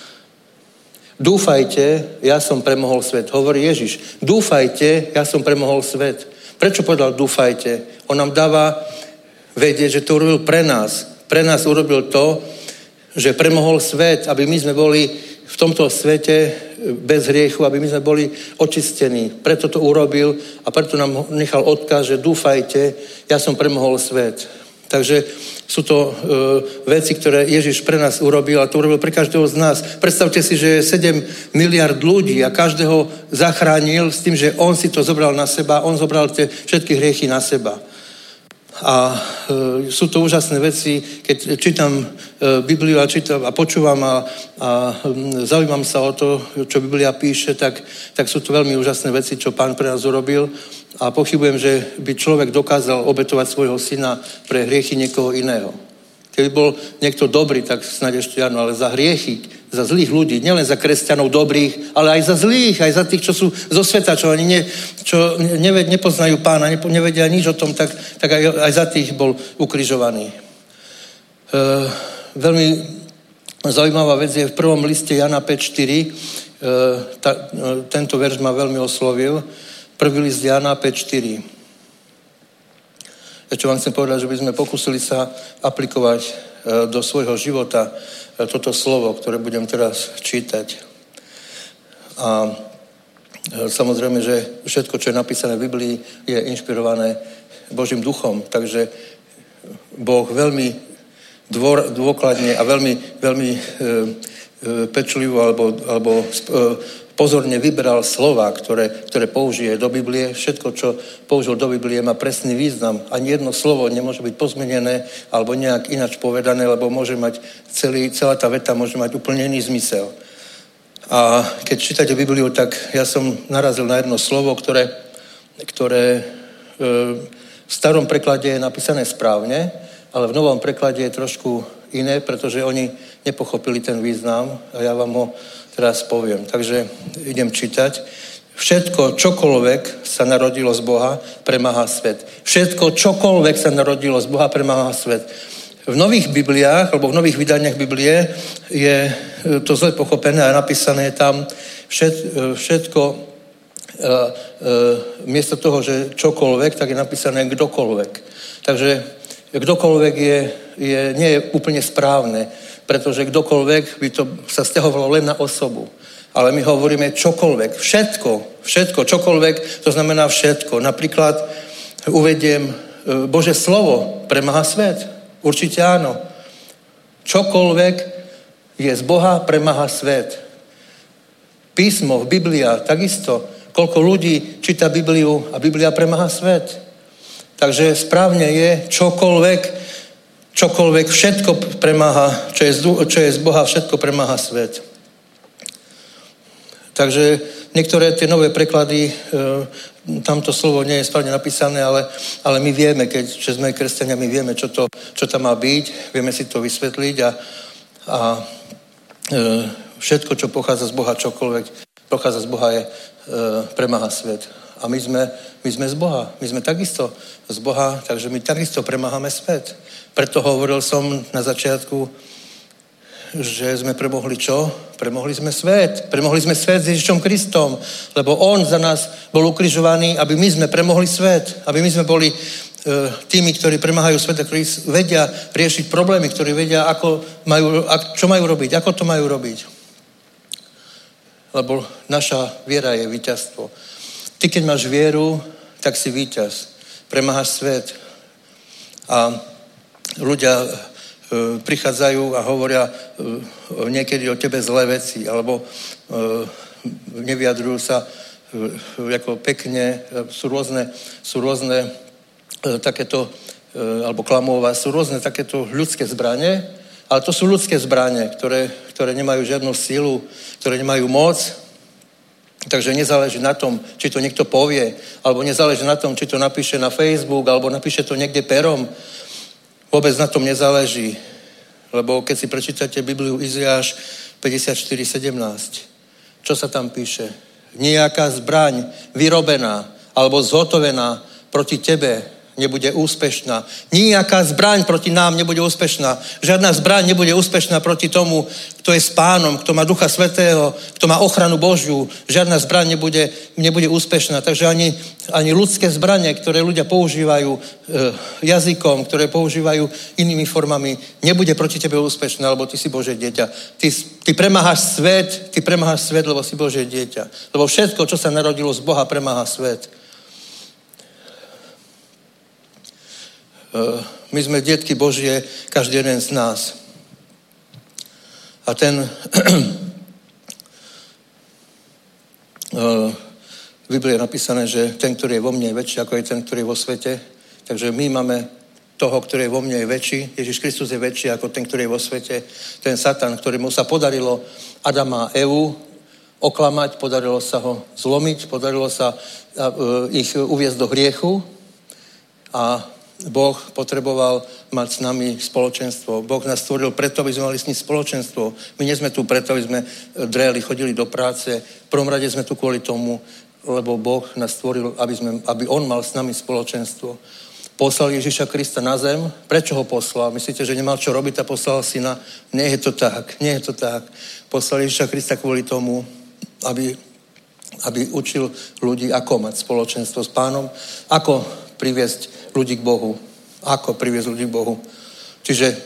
Dúfajte, ja som premohol svet. Hovorí Ježiš. Dúfajte, ja som premohol svet. Prečo povedal dúfajte? On nám dáva vedieť, že to urobil pre nás. Pre nás urobil to, že premohol svet, aby my sme boli v tomto svete bez hriechu, aby my sme boli očistení. Preto to urobil a preto nám nechal odkaz, že dúfajte, ja som premohol svet. Takže sú to veci, ktoré Ježiš pre nás urobil a to urobil pre každého z nás. Predstavte si, že je 7 miliard ľudí a každého zachránil s tým, že on si to zobral na seba, on zobral tie všetky hriechy na seba. A sú to úžasné veci, keď čítam Bibliu a počúvam a zaujímam sa o to, čo Biblia píše, tak sú to veľmi úžasné veci, čo Pán pre nás urobil. A pochybujem, že by človek dokázal obetovať svojho syna pre hriechy niekoho iného. Keby bol niekto dobrý, tak snáď ešte áno, ale za hriechy, za zlých ľudí, nielen za kresťanov dobrých, ale aj za zlých, aj za tých, čo sú zo sveta, čo ani nepoznajú Pána, nevedia nič o tom, tak aj za tých bol ukrižovaný. Veľmi zaujímavá vec je v prvom liste Jana 5:4. Tento verš ma veľmi oslovil. Prvý list Jana 5:4. Čo vám chcem povedať, že by sme pokúsili sa aplikovať do svojho života toto slovo, ktoré budem teraz čítať. A samozrejme, že všetko, čo je napísané v Biblii, je inšpirované Božím duchom. Takže Boh veľmi dôkladne a veľmi pečlivo alebo pozorne vyberal slova, ktoré použije do Biblie. Všetko, čo použil do Biblie, má presný význam. Ani jedno slovo nemôže byť pozmenené alebo nejak ináč povedané, lebo môže mať celá tá veta môže mať úplne iný zmysel. A keď čítate Bibliu, tak ja som narazil na jedno slovo, ktoré v starom preklade je napísané správne, ale v novom preklade je trošku iné, pretože oni nepochopili ten význam a ja vám ho teraz poviem. Takže idem čítať. Všetko, čokoľvek sa narodilo z Boha, premáha svet. Všetko, čokoľvek sa narodilo z Boha, premáha svet. V nových Bibliách, alebo v nových vydaniach Biblie je to zle pochopené a napísané tam všetko, miesto toho, že čokoľvek, tak je napísané kdokoľvek. Takže kdokoľvek nie je úplne správne, pretože kdokoľvek by to sa sťahovalo len na osobu. Ale my hovoríme čokoľvek, všetko, čokoľvek, to znamená všetko. Napríklad uvediem, Božie slovo premáha svet. Určite áno. Čokoľvek je z Boha, premáha svet. Písmo, Biblia, takisto. Koľko ľudí číta Bibliu a Biblia premáha svet. Takže správne je čokoľvek, všetko premáha, čo je z Boha, všetko premáha svet. Takže niektoré tie nové preklady, tamto slovo nie je správne napísané, ale my vieme, že sme kresťania, my vieme, čo tam má byť, vieme si to vysvetliť a všetko, čo pochádza z Boha, čokoľvek pochádza z Boha, premáha svet. A my sme z Boha. My sme takisto z Boha, takže my takisto premáhame svet. Preto hovoril som na začiatku, že sme premohli čo? Premohli sme svet. Premohli sme svet s Ježišom Kristom, lebo on za nás bol ukrižovaný, aby my sme premohli svet. Aby my sme boli tými, ktorí premáhajú svet, ktorí vedia riešiť problémy, ktorí vedia, čo majú robiť, ako to majú robiť. Lebo naša viera je víťazstvo. Ty, keď máš vieru, tak si víťaz. Premáhaš svet. A ľudia prichádzajú a hovoria niekedy o tebe zlé veci, alebo nevyjadrujú sa ako pekne, sú rôzne takéto, alebo klamová, sú rôzne takéto ľudské zbrane, ale to sú ľudské zbrane, ktoré nemajú žiadnu silu, ktoré nemajú moc, takže nezáleží na tom, či to niekto povie, alebo nezáleží na tom, či to napíše na Facebook, alebo napíše to niekde perom. Vôbec na tom nezáleží, lebo keď si prečítate Bibliu Izajáš 54:17, čo sa tam píše? Nejaká zbraň vyrobená alebo zhotovená proti tebe nebude úspešná. Nejaká zbraň proti nám nebude úspešná. Žiadna zbraň nebude úspešná proti tomu, kto je s Pánom, kto má Ducha Svätého, kto má ochranu Božiu. Žiadna zbraň nebude úspešná. Takže ani ľudské zbranie, ktoré ľudia používajú jazykom, ktoré používajú inými formami, nebude proti tebe úspešná, lebo ty si Božie dieťa. Ty premáhaš svet, lebo si Božie dieťa. Lebo všetko, čo sa narodilo z Boha, premáha svet. My sme detky Božie, každý jeden z nás. A v Biblii je napísané, že ten, ktorý je vo mne, je väčší, ako je ten, ktorý je vo svete. Takže my máme toho, ktorý je vo mne, je väčší. Ježiš Kristus je väčší, ako ten, ktorý je vo svete. Ten Satan, ktorému sa podarilo Adama a Evu oklamať, podarilo sa ho zlomiť, podarilo sa ich uviesť do hriechu a Boh potreboval mať s nami spoločenstvo. Boh nás stvoril preto, aby sme mali s ním spoločenstvo. My nie sme tu preto, aby sme dreli, chodili do práce. V prvom rade sme tu kvôli tomu, lebo Boh nás stvoril, aby on mal s nami spoločenstvo. Poslal Ježiša Krista na zem. Prečo ho poslal? Myslíte, že nemal čo robiť a poslal syna? Nie je to tak. Poslal Ježiša Krista kvôli tomu, aby učil ľudí, ako mať spoločenstvo s Pánom, ako priviesť ľudí k Bohu. Čiže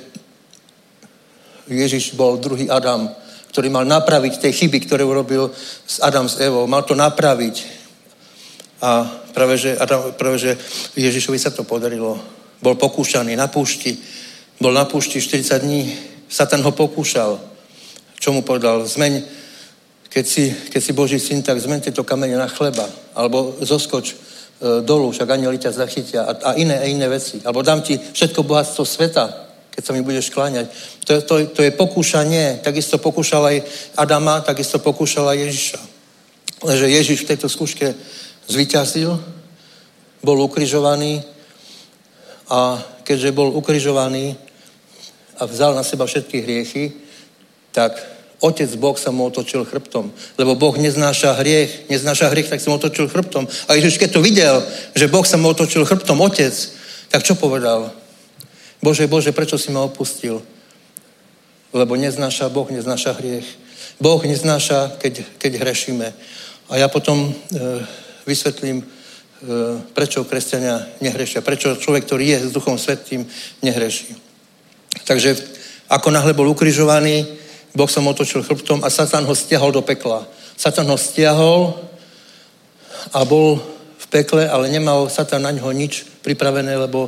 Ježiš bol druhý Adam, ktorý mal napraviť tie chyby, ktoré urobil Adam s Evou. Mal to napraviť. A práve že Ježišovi sa to podarilo. Bol pokúšaný na púšti. Bol na púšti 40 dní. Satan ho pokúšal. Čo mu povedal? Keď si Boží syn, tak zmeň tieto kamene na chleba. Alebo zoskoč dolu, však anjeli ťa zachytia a iné veci. Alebo dám ti všetko bohatstvo sveta, keď sa mi budeš kláňať. To je pokúšanie. Takisto pokúšal aj Adama, takisto pokúšal aj Ježiša. Lenže Ježiš v tejto skúške zvíťazil, bol ukrižovaný a keďže bol ukrižovaný a vzal na seba všetky hriechy, tak Otec Boh sa mu otočil chrbtom. Lebo Boh neznáša hriech, tak sa mu otočil chrbtom. A Ježiš, keď to videl, že Boh sa mu otočil chrbtom, Otec, tak čo povedal? Bože, prečo si ma opustil? Lebo Boh neznáša hriech. Boh neznáša, keď hrešíme. A ja potom vysvetlím, prečo kresťania nehrešia. Prečo človek, ktorý je s Duchom Svätým, nehreší. Takže ako náhle bol ukrižovaný, Boh sa mu otočil chrbtom a Satan ho stiahol do pekla. Satan ho stiahol a bol v pekle, ale nemal Satan na ňo nič pripravené, lebo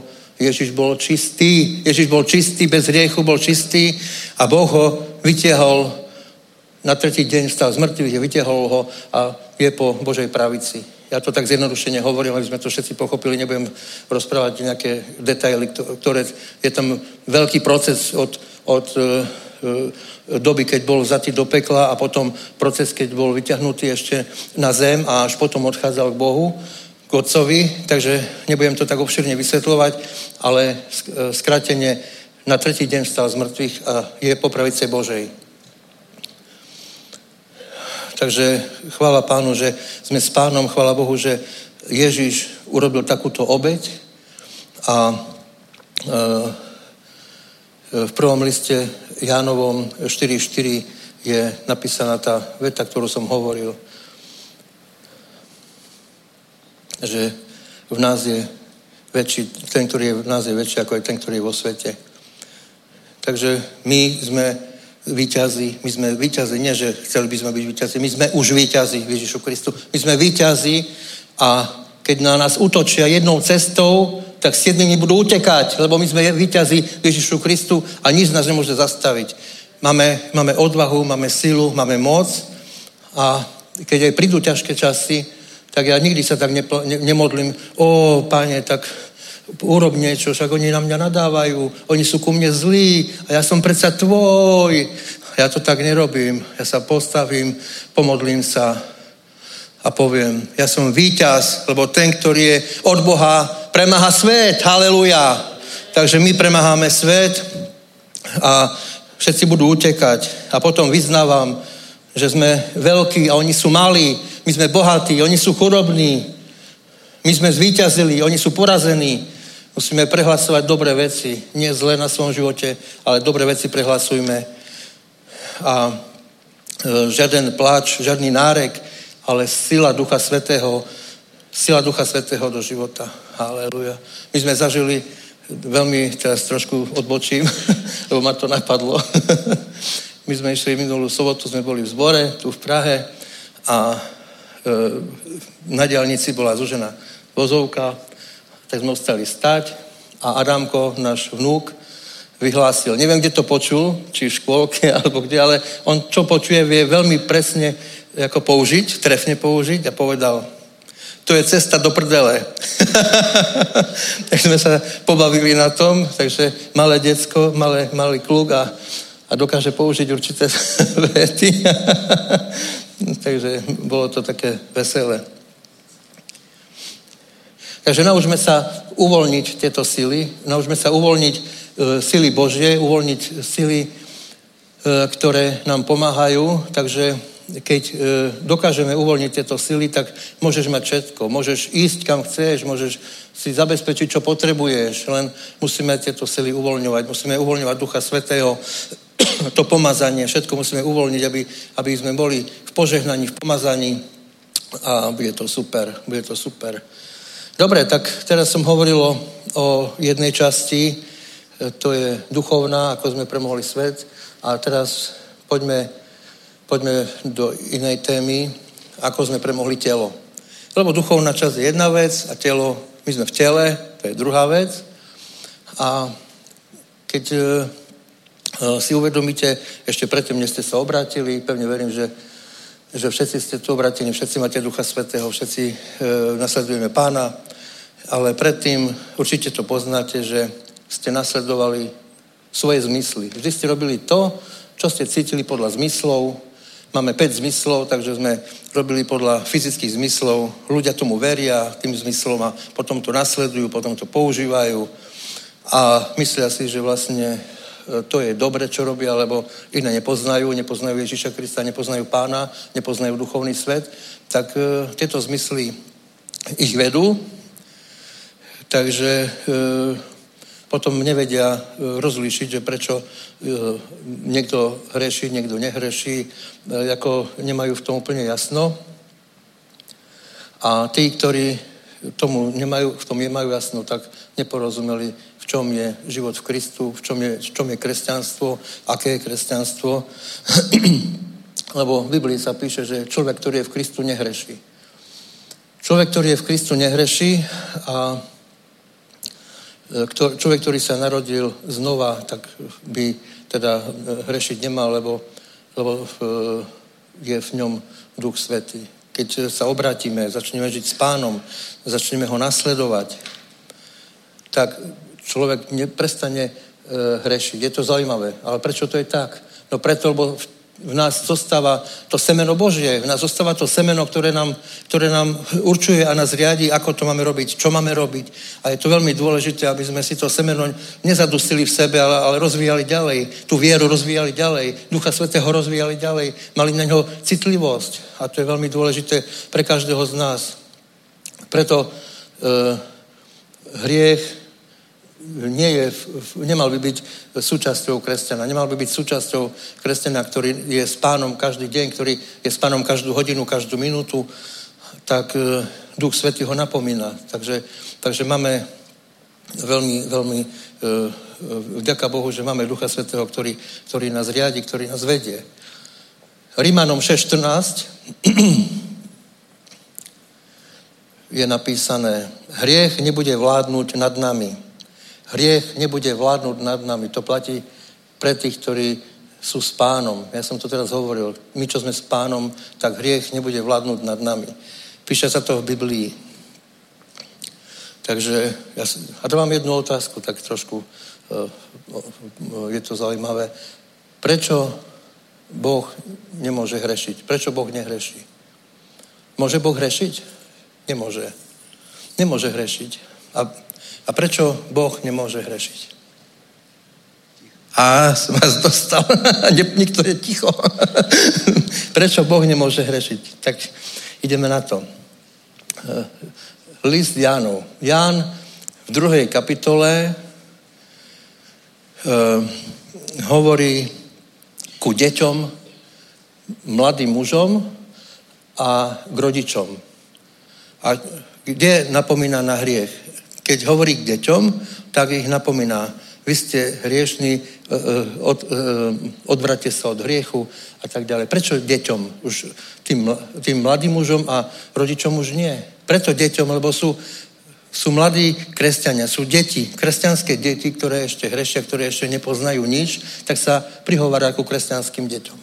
Ježiš bol čistý, bez hriechu bol čistý a Boh ho vytiahol na tretí deň, vstal z mŕtvych, vytiahol ho a je po Božej pravici. Ja to tak zjednodušene hovorím, aby sme to všetci pochopili, nebudem rozprávať nejaké detaily, ktoré je tam veľký proces od doby, keď bol vzatý do pekla a potom proces, keď bol vyťahnutý ešte na zem a až potom odchádzal k Bohu, k Otcovi, takže nebudem to tak obširne vysvetľovať, ale skrátene na tretí deň vstal z mŕtvych a je po pravici Božej. Takže chvála Pánu, že sme s Pánom, chvála Bohu, že Ježiš urobil takúto obeť a v prvom liste Jánovom 4.4 je napísaná tá veta, ktorú som hovoril, že v nás je väčší, ten, ktorý je v nás je väčší, ako je ten, ktorý je vo svete. Takže my sme víťazi, nie, že chceli by sme byť víťazi, my sme už víťazi v Ježišu Kristu. My sme víťazi a keď na nás útočia jednou cestou, tak 7 budú utekať, lebo my sme víťazi v Ježišu Kristu a nič nás nemôže zastaviť. Máme odvahu, máme silu, máme moc a keď aj prídu ťažké časy, tak ja nikdy sa tak nemodlím, Pane, tak urob niečo, však oni na mňa nadávajú, oni sú ku mne zlí a ja som predsa tvoj. Ja to tak nerobím. Ja sa postavím, pomodlím sa a poviem, ja som víťaz, lebo ten, ktorý je od Boha, premáha svet. Haleluja. Takže my premáhame svet a všetci budú utekať. A potom vyznávam, že sme veľkí a oni sú malí. My sme bohatí, oni sú chudobní. My sme zvíťazili, oni sú porazení. Musíme prehlasovať dobré veci. Nie zlé na svojom živote, ale dobré veci prehlasujme. A žiaden pláč, žiadny nárek, ale sila Ducha Svätého do života. Halleluja. My sme zažili veľmi, teraz trošku odbočím, lebo ma to napadlo. My sme išli minulú sobotu, sme boli v zbore, tu v Prahe a na diaľnici bola zúžená vozovka, tak sme ostali stať a Adamko, náš vnúk, vyhlásil. Neviem, kde to počul, či v škôlke, alebo kde, ale on čo počuje, vie veľmi presne ako použiť, trefne použiť a povedal, to je cesta do prdele. Tak sme sa pobavili na tom, takže malé decko, malý kluk a dokáže použiť určité vety. Takže bolo to také veselé. Takže naučme sa uvoľniť tieto sily, naučme sa uvoľniť sily Božie, uvoľniť sily, ktoré nám pomáhajú. Takže keď dokážeme uvoľniť tieto sily, tak môžeš mať všetko. Môžeš ísť kam chceš, môžeš si zabezpečiť, čo potrebuješ. Len musíme tieto sily uvoľňovať. Musíme uvoľňovať Ducha Svätého, to pomazanie, všetko musíme uvoľniť, aby sme boli v požehnaní, v pomazaní a bude to super. Dobre, tak teraz som hovoril o jednej časti, to je duchovná, ako sme premohli svet a teraz poďme do inej témy, ako sme premohli telo. Lebo duchovná časť je jedna vec a telo, my sme v tele, to je druhá vec a keď si uvedomíte, ešte predtým, než ste sa obrátili, pevne verím, že všetci ste tu obrátení, všetci máte Ducha Svätého, všetci nasledujeme Pána, ale predtým určite to poznáte, že ste nasledovali svoje zmysly. Vždy ste robili to, čo ste cítili podľa zmyslov. Máme 5 zmyslov, takže sme robili podľa fyzických zmyslov. Ľudia tomu veria, tým zmyslom a potom to nasledujú, potom to používajú a myslia si, že vlastne to je dobre, čo robia, lebo iné nepoznajú Ježiša Krista, nepoznajú Pána, nepoznajú duchovný svet, tak tieto zmysly ich vedú, takže potom nevedia rozlíšiť, že prečo niekto hreší, niekto nehreší, ako nemajú v tom úplne jasno. A tí, ktorí v tom nemajú jasno, tak neporozumeli, v čom je život v Kristu, v čom je kresťanstvo, aké je kresťanstvo. Lebo v Biblii sa píše, že človek, ktorý je v Kristu, nehreší. Človek, ktorý je v Kristu, nehreší a Človek, ktorý sa narodil znova, tak by teda hrešiť nemal, lebo je v ňom Duch Svätý. Keď sa obrátime, začneme žiť s Pánom, začneme ho nasledovať, tak človek neprestane hrešiť. Je to zaujímavé. Ale prečo to je tak? No preto, lebo v nás zostáva to semeno Božie, v nás zostáva to semeno, ktoré nám určuje a nás riadi, ako to máme robiť, čo máme robiť. A je to veľmi dôležité, aby sme si to semeno nezadusili v sebe, ale rozvíjali ďalej. Tú vieru rozvíjali ďalej, Ducha Svätého rozvíjali ďalej, mali na ňo citlivosť. A to je veľmi dôležité pre každého z nás. Preto hriech nemal by byť súčasťou kresťana. Nemal by byť súčasťou kresťana, ktorý je s Pánom každý deň, ktorý je s Pánom každú hodinu, každú minútu, tak Duch Svätý ho napomína. Takže máme veľmi vďaka Bohu, že máme Ducha Svätého, ktorý nás riadi, ktorý nás vedie. Rímanom 6:14 je napísané: hriech nebude vládnuť nad nami. Hriech nebude vládnuť nad nami. To platí pre tých, ktorí sú s Pánom. Ja som to teraz hovoril. My, čo sme s Pánom, tak hriech nebude vládnuť nad nami. Píše sa to v Biblii. Takže a to mám jednu otázku, tak trošku je to zaujímavé. Prečo Boh nemôže hrešiť? Prečo Boh nehreší? Môže Boh hrešiť? Nemôže. Nemôže hrešiť. A prečo Boh nemôže hrešiť? A som vás dostal. Nikto je ticho. Prečo Boh nemôže hrešiť? Tak ideme na to. List Jánov. Ján v 2. kapitole hovorí ku deťom, mladým mužom a k rodičom. A kde napomína na hriech? Keď hovorí k deťom, tak ich napomína. Vy ste hriešní, odvráťte sa od hriechu a tak ďalej. Prečo deťom? Už tým mladým mužom a rodičom už nie. Preto deťom, lebo sú mladí kresťania, sú deti, kresťanské deti, ktoré ešte hrešia, ktoré ešte nepoznajú nič, tak sa prihovára ku kresťanským deťom.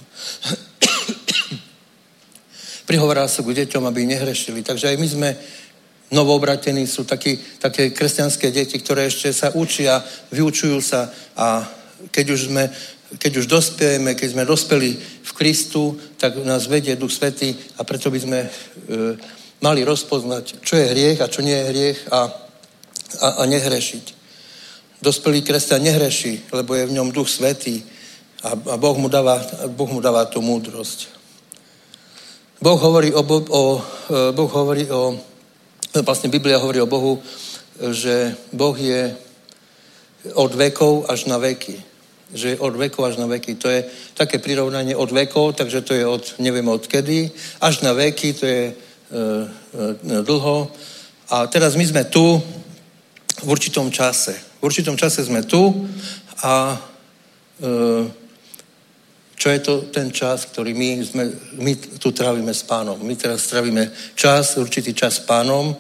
Prihovára sa ku deťom, aby nehrešili. Takže aj my sme novoobratení, sú také kresťanské deti, ktoré ešte sa učia, vyučujú sa a keď už dospiejeme, keď sme dospeli v Kristu, tak nás vedie Duch Svätý a preto by sme mali rozpoznať, čo je hriech a čo nie je hriech a nehrešiť. Dospelý kresťan nehreší, lebo je v ňom Duch Svätý a Boh mu dáva tú múdrosť. Vlastne Biblia hovorí o Bohu, že Boh je od vekov až na veky. Že je od vekov až na veky. To je také prirovnanie od vekov, takže to je neviem od kedy, až na veky, to je dlho. A teraz my sme tu v určitom čase. V určitom čase sme tu a čo je to ten čas, ktorý my tu trávime s Pánom. My teraz trávime určitý čas s Pánom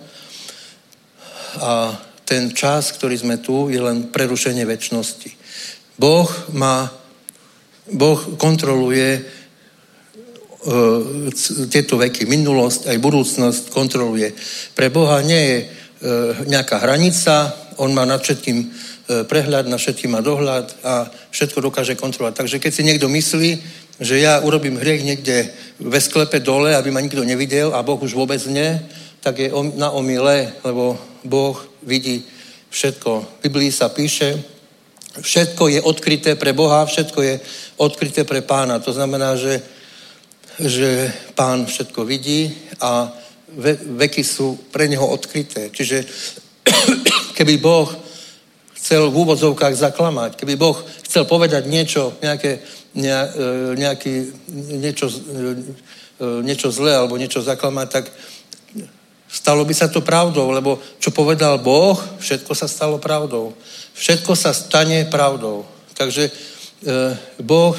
a ten čas, ktorý sme tu, je len prerušenie večnosti. Boh kontroluje tieto veky, minulosť aj budúcnosť kontroluje. Pre Boha nie je nejaká hranica, on má nad všetkým prehľad, na všetkým má dohľad a všetko dokáže kontrolovať. Takže keď si niekto myslí, že ja urobím hriech niekde ve sklepe dole, aby ma nikto nevidel a Boh už vôbec nie, tak je na omyle, lebo Boh vidí všetko. V Biblii sa píše, všetko je odkryté pre Boha, všetko je odkryté pre Pána. To znamená, že Pán všetko vidí a veky sú pre neho odkryté. Čiže keby Boh chcel v úvodzovkách zaklamať, keby Boh chcel povedať niečo zlé alebo niečo zaklamať, tak stalo by sa to pravdou, lebo čo povedal Boh, všetko sa stalo pravdou. Všetko sa stane pravdou. Takže Boh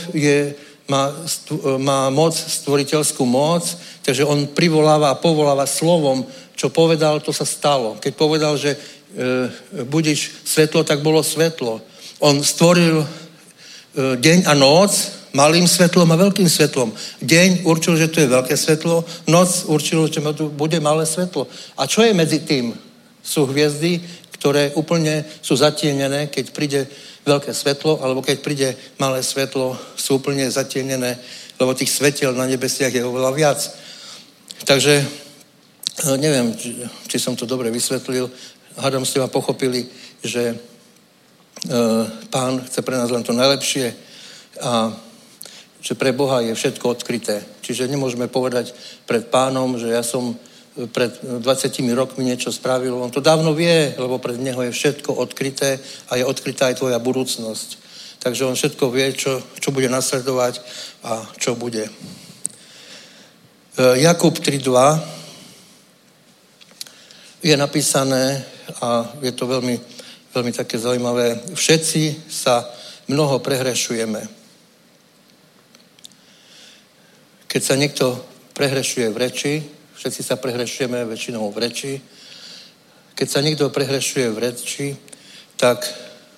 má moc, stvoriteľskú moc, takže on privoláva a povoláva slovom, čo povedal, to sa stalo. Keď povedal, že budiš svetlo, tak bolo svetlo. On stvoril deň a noc malým svetlom a veľkým svetlom. Deň určil, že to je veľké svetlo, noc určil, že to bude malé svetlo. A čo je medzi tým? Sú hviezdy, ktoré úplne sú zatienené, keď príde veľké svetlo, alebo keď príde malé svetlo, sú úplne zatienené, lebo tých svetiel na nebesiach je oveľa viac. Takže neviem, či som to dobre vysvetlil. Hádam ste ma pochopili, že Pán chce pre nás len to najlepšie a že pre Boha je všetko odkryté. Čiže nemôžeme povedať pred Pánom, že ja som pred 20 rokmi niečo spravil. On to dávno vie, lebo pred Neho je všetko odkryté a je odkrytá aj tvoja budúcnosť. Takže on všetko vie, čo bude nasledovať a čo bude. Jakub 3.2 je napísané a je to veľmi, veľmi také zaujímavé. Všetci sa mnoho prehrešujeme. Keď sa niekto prehrešuje v reči, všetci sa prehrešujeme väčšinou v reči. Keď sa niekto prehrešuje v reči, tak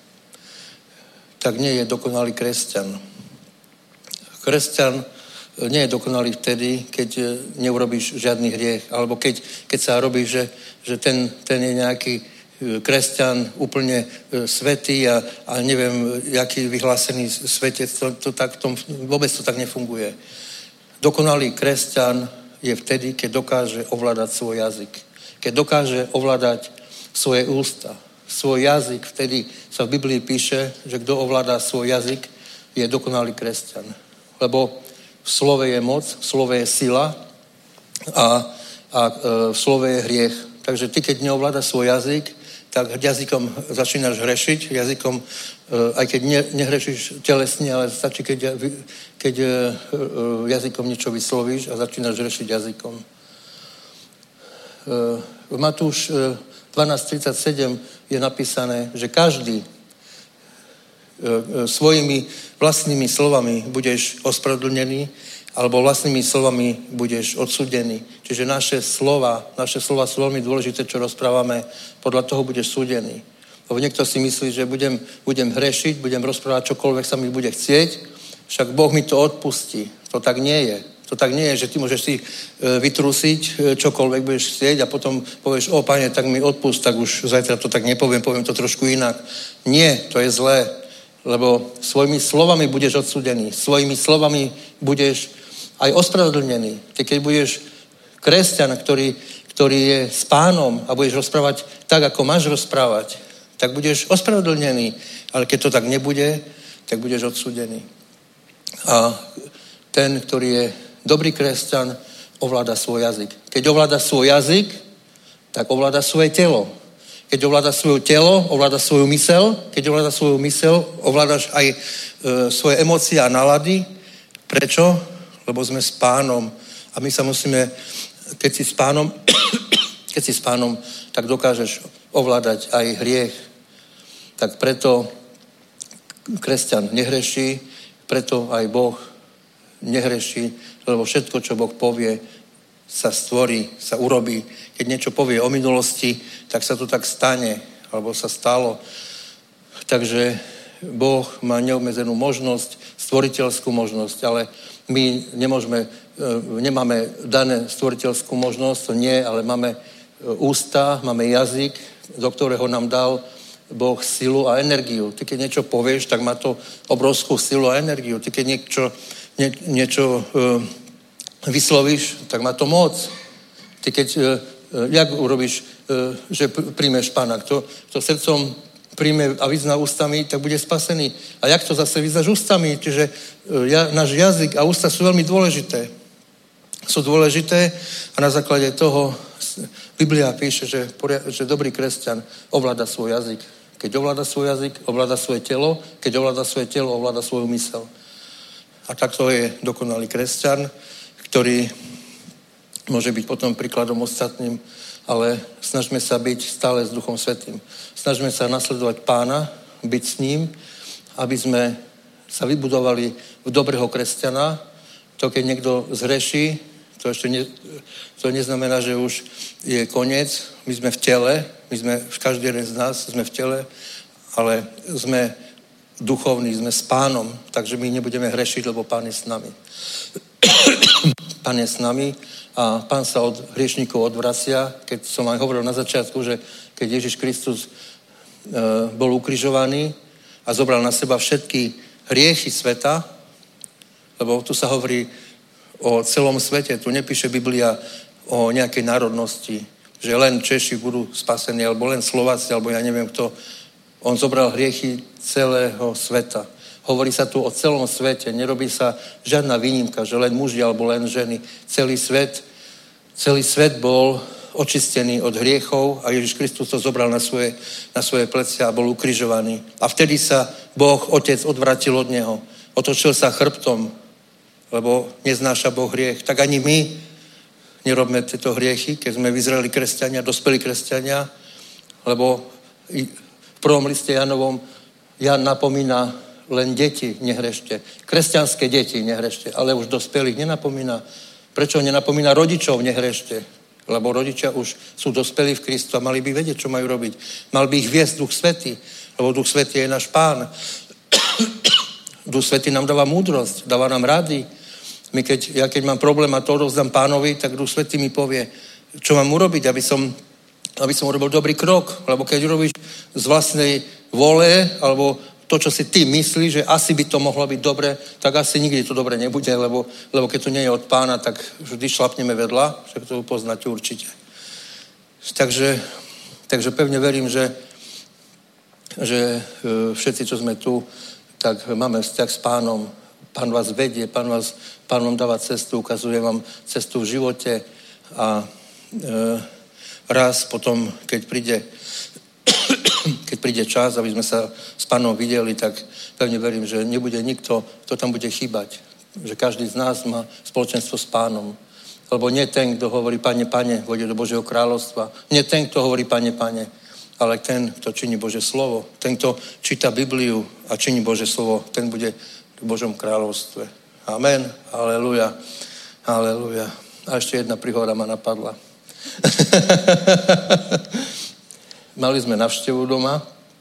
nie je dokonalý kresťan. Kresťan nie je dokonalý vtedy, keď neurobíš žiadny hriech, alebo keď sa robí, že ten je nejaký kresťan úplne svätý a neviem, jaký vyhlásený svetec, vôbec to tak nefunguje. Dokonalý kresťan je vtedy, keď dokáže ovládať svoj jazyk. Keď dokáže ovládať svoje ústa. Svoj jazyk, vtedy sa v Biblii píše, že kto ovládá svoj jazyk, je dokonalý kresťan. Lebo v slove je moc, v slove je sila a v slove je hriech. Takže ty, keď neovládaš svoj jazyk, tak jazykom začínaš hrešiť. Jazykom, aj keď nehrešíš telesne, ale stačí, keď jazykom niečo vyslovíš a začínaš hrešiť jazykom. V Matúš 12.37 je napísané, že každý svojimi vlastnými slovami budeš ospravedlnený alebo vlastnými slovami budeš odsúdený. Čiže naše slova sú veľmi dôležité, čo rozprávame, podľa toho budeš súdený. Lebo niekto si myslí, že budem hrešiť, budem rozprávať čokoľvek sa mi bude chcieť, však Boh mi to odpustí. To tak nie je. To tak nie je, že ty môžeš si vytrúsiť čokoľvek budeš chcieť a potom povieš, Pane, tak mi odpust, tak už zajtra to tak nepoviem, poviem to trošku inak. Nie, to je zlé, lebo svojimi slovami budeš odsúdený, svojimi slovami budeš aj ospravedlnený. Ty keď budeš kresťan, ktorý je s Pánom a budeš rozprávať tak, ako máš rozprávať, tak budeš ospravedlnený. Ale keď to tak nebude, tak budeš odsúdený. A ten, ktorý je dobrý kresťan, ovláda svoj jazyk. Keď ovláda svoj jazyk, tak ovláda svoje telo. Keď ovláda svoje telo, ovláda svoju mysel. Keď ovláda svoju mysel, ovládaš aj svoje emócie a nálady. Prečo? Lebo sme s Pánom. A my sa musíme, keď si s Pánom, tak dokážeš ovládať aj hriech. Tak preto kresťan nehreší, preto aj Boh nehreší, lebo všetko, čo Boh povie, sa stvorí, sa urobí. Keď niečo povie o minulosti, tak sa to tak stane, alebo sa stalo. Takže Boh má neobmedzenú možnosť, stvoriteľskú možnosť, ale my nemáme dané stvoriteľskú možnosť, to nie, ale máme ústa, máme jazyk, do ktorého nám dal Boh silu a energiu. Ty keď niečo povieš, tak má to obrovskú silu a energiu. Ty keď niečo vyslovíš, tak má to moc. Ty keď, jak urobíš, že príjmeš Pána, kto srdcom príjme a vyzná ústami, tak bude spasený. A jak to zase vyznáš ústami? Čiže náš jazyk a ústa sú veľmi dôležité. Sú dôležité a na základe toho Biblia píše, že dobrý kresťan ovláda svoj jazyk. Keď ovláda svoj jazyk, ovláda svoje telo. Keď ovláda svoje telo, ovláda svoju mysel. A takto je dokonalý kresťan, ktorý môže byť potom príkladom ostatným, ale snažme sa byť stále s Duchom Svätým. Snažme sa nasledovať Pána, byť s ním, aby sme sa vybudovali v dobrého kresťana. To, keď niekto zhreší, To neznamená, že už je koniec. My sme v tele, každý jeden z nás sme v tele, ale sme duchovní, sme s Pánom, takže my nebudeme hrešiť, lebo Pán je s nami. Pán je s nami a Pán sa od hriešníkov odvracia. Keď som aj hovoril na začiatku, že keď Ježiš Kristus bol ukrižovaný a zobral na seba všetky hriechy sveta, lebo tu sa hovorí o celom svete, tu nepíše Biblia o nejakej národnosti, že len Češi budú spasení, alebo len Slováci, alebo ja neviem kto. On zobral hriechy celého sveta. Hovorí sa tu o celom svete, nerobí sa žiadna výnimka, že len muži alebo len ženy. Celý svet bol očistený od hriechov a Ježiš Kristus to zobral na svoje plecia a bol ukrižovaný. A vtedy sa Boh, Otec, odvratil od neho. Otočil sa chrbtom, lebo neznáša Boh hriech. Tak ani my nerobme tieto hriechy, keď sme vyzreli kresťania, dospelí kresťania, lebo v prvom liste Janovom Jan napomína len deti, nehrešte. Kresťanské deti, nehrešte. Ale už dospelých nenapomína. Prečo nenapomína rodičov, nehrešte? Lebo rodičia už sú dospelí v Kristu a mali by vedieť, čo majú robiť. Mal by ich viesť Duch Svätý, lebo Duch Svätý je náš Pán. Duch Svätý nám dáva múdrosť, dáva nám rady. Keď mám problém a to odovzdám Pánovi, tak Duch Svätý mi povie, čo mám urobiť, aby som urobil dobrý krok. Lebo keď urobíš z vlastnej vole, alebo to, čo si ty myslíš, že asi by to mohlo byť dobre, tak asi nikdy to dobre nebude, lebo keď to nie je od Pána, tak vždy šlapneme vedľa, však to poznáte určite. Takže pevne verím, že všetci, čo sme tu, tak máme vzťah s Pánom. Pán vás vedie, Pán vám dáva cestu, ukazuje vám cestu v živote a raz potom, keď príde čas, aby sme sa s Pánom videli, tak pevne verím, že nebude nikto, kto tam bude chýbať. Že každý z nás má spoločenstvo s Pánom. Lebo nie ten, kto hovorí Pane, Pane, vojde do Božieho kráľovstva. Nie ten, kto hovorí Pane, Pane, ale ten, kto činí Božie slovo. Ten, kto číta Bibliu a činí Božie slovo, ten bude v Božom kráľovstve. Amen. Aleluja. Aleluja. A ešte jedna príhoda ma napadla. Mali sme navštevu doma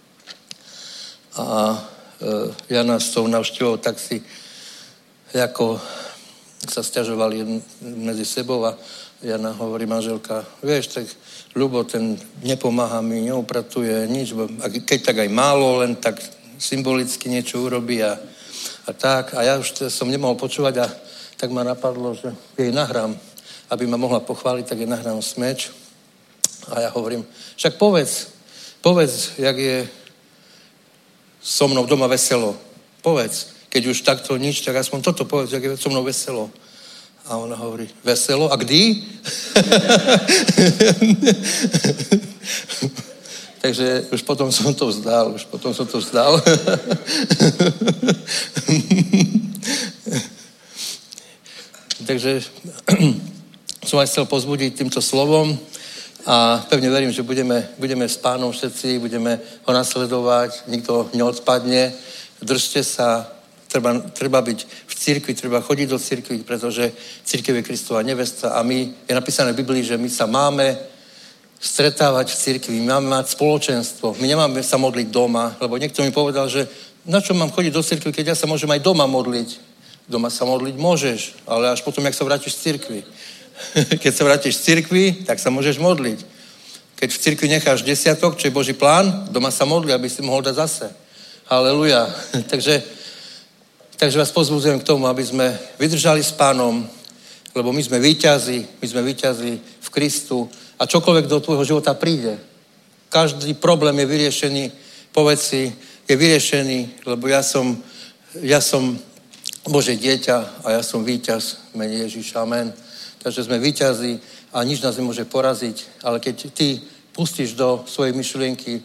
a Jana s tou navštevou tak si ako sa sťažovali medzi sebou a Jana hovorí manželka, vieš, tak Ľubo, ten nepomáha mi, neupratuje nič, keď tak aj málo, len tak symbolicky niečo urobí a tak. A ja už som nemohol počúvať a tak ma napadlo, že jej nahrám, aby ma mohla pochváliť, tak jej nahrám smeč. A ja hovorím, však povedz, jak je so mnou doma veselo. Povedz, keď už takto nič, tak aspoň toto povedz, jak je so mnou veselo. A ona hovorí, veselo? A kdy? Takže už potom som to vzdal. Takže som aj chcel pozbudiť týmto slovom a pevne verím, že budeme s Pánom všetci, budeme ho nasledovať, nikto neodpadne. Držte sa, treba byť v cirkvi, treba chodiť do cirkvi, pretože cirkev je Kristova nevesta a je napísané v Biblii, že my sa máme stretávať v cirkvi, my máme mať spoločenstvo, my nemáme sa modliť doma, lebo niekto mi povedal, že na čo mám chodiť do cirkvi, keď ja sa môžem aj doma modliť. Doma sa modliť môžeš, ale až potom, jak sa vrátiš z cirkvi. Keď sa vrátiš z cirkvi, tak sa môžeš modliť. Keď v cirkvi necháš desiatok, čo je Boží plán, doma sa modli, aby si mohol dať zase. Halleluja. Takže vás pozbudzujem k tomu, aby sme vydržali s Pánom, lebo my sme víťazi v Kristu a čokoľvek do tvojho života príde. Každý problém je vyriešený, povedz si, je vyriešený, lebo ja som Božie dieťa a ja som víťaz v mene Ježiša. Amen. Takže sme víťazi a nič nás nemôže poraziť, ale keď ty pustíš do svojej myšlienky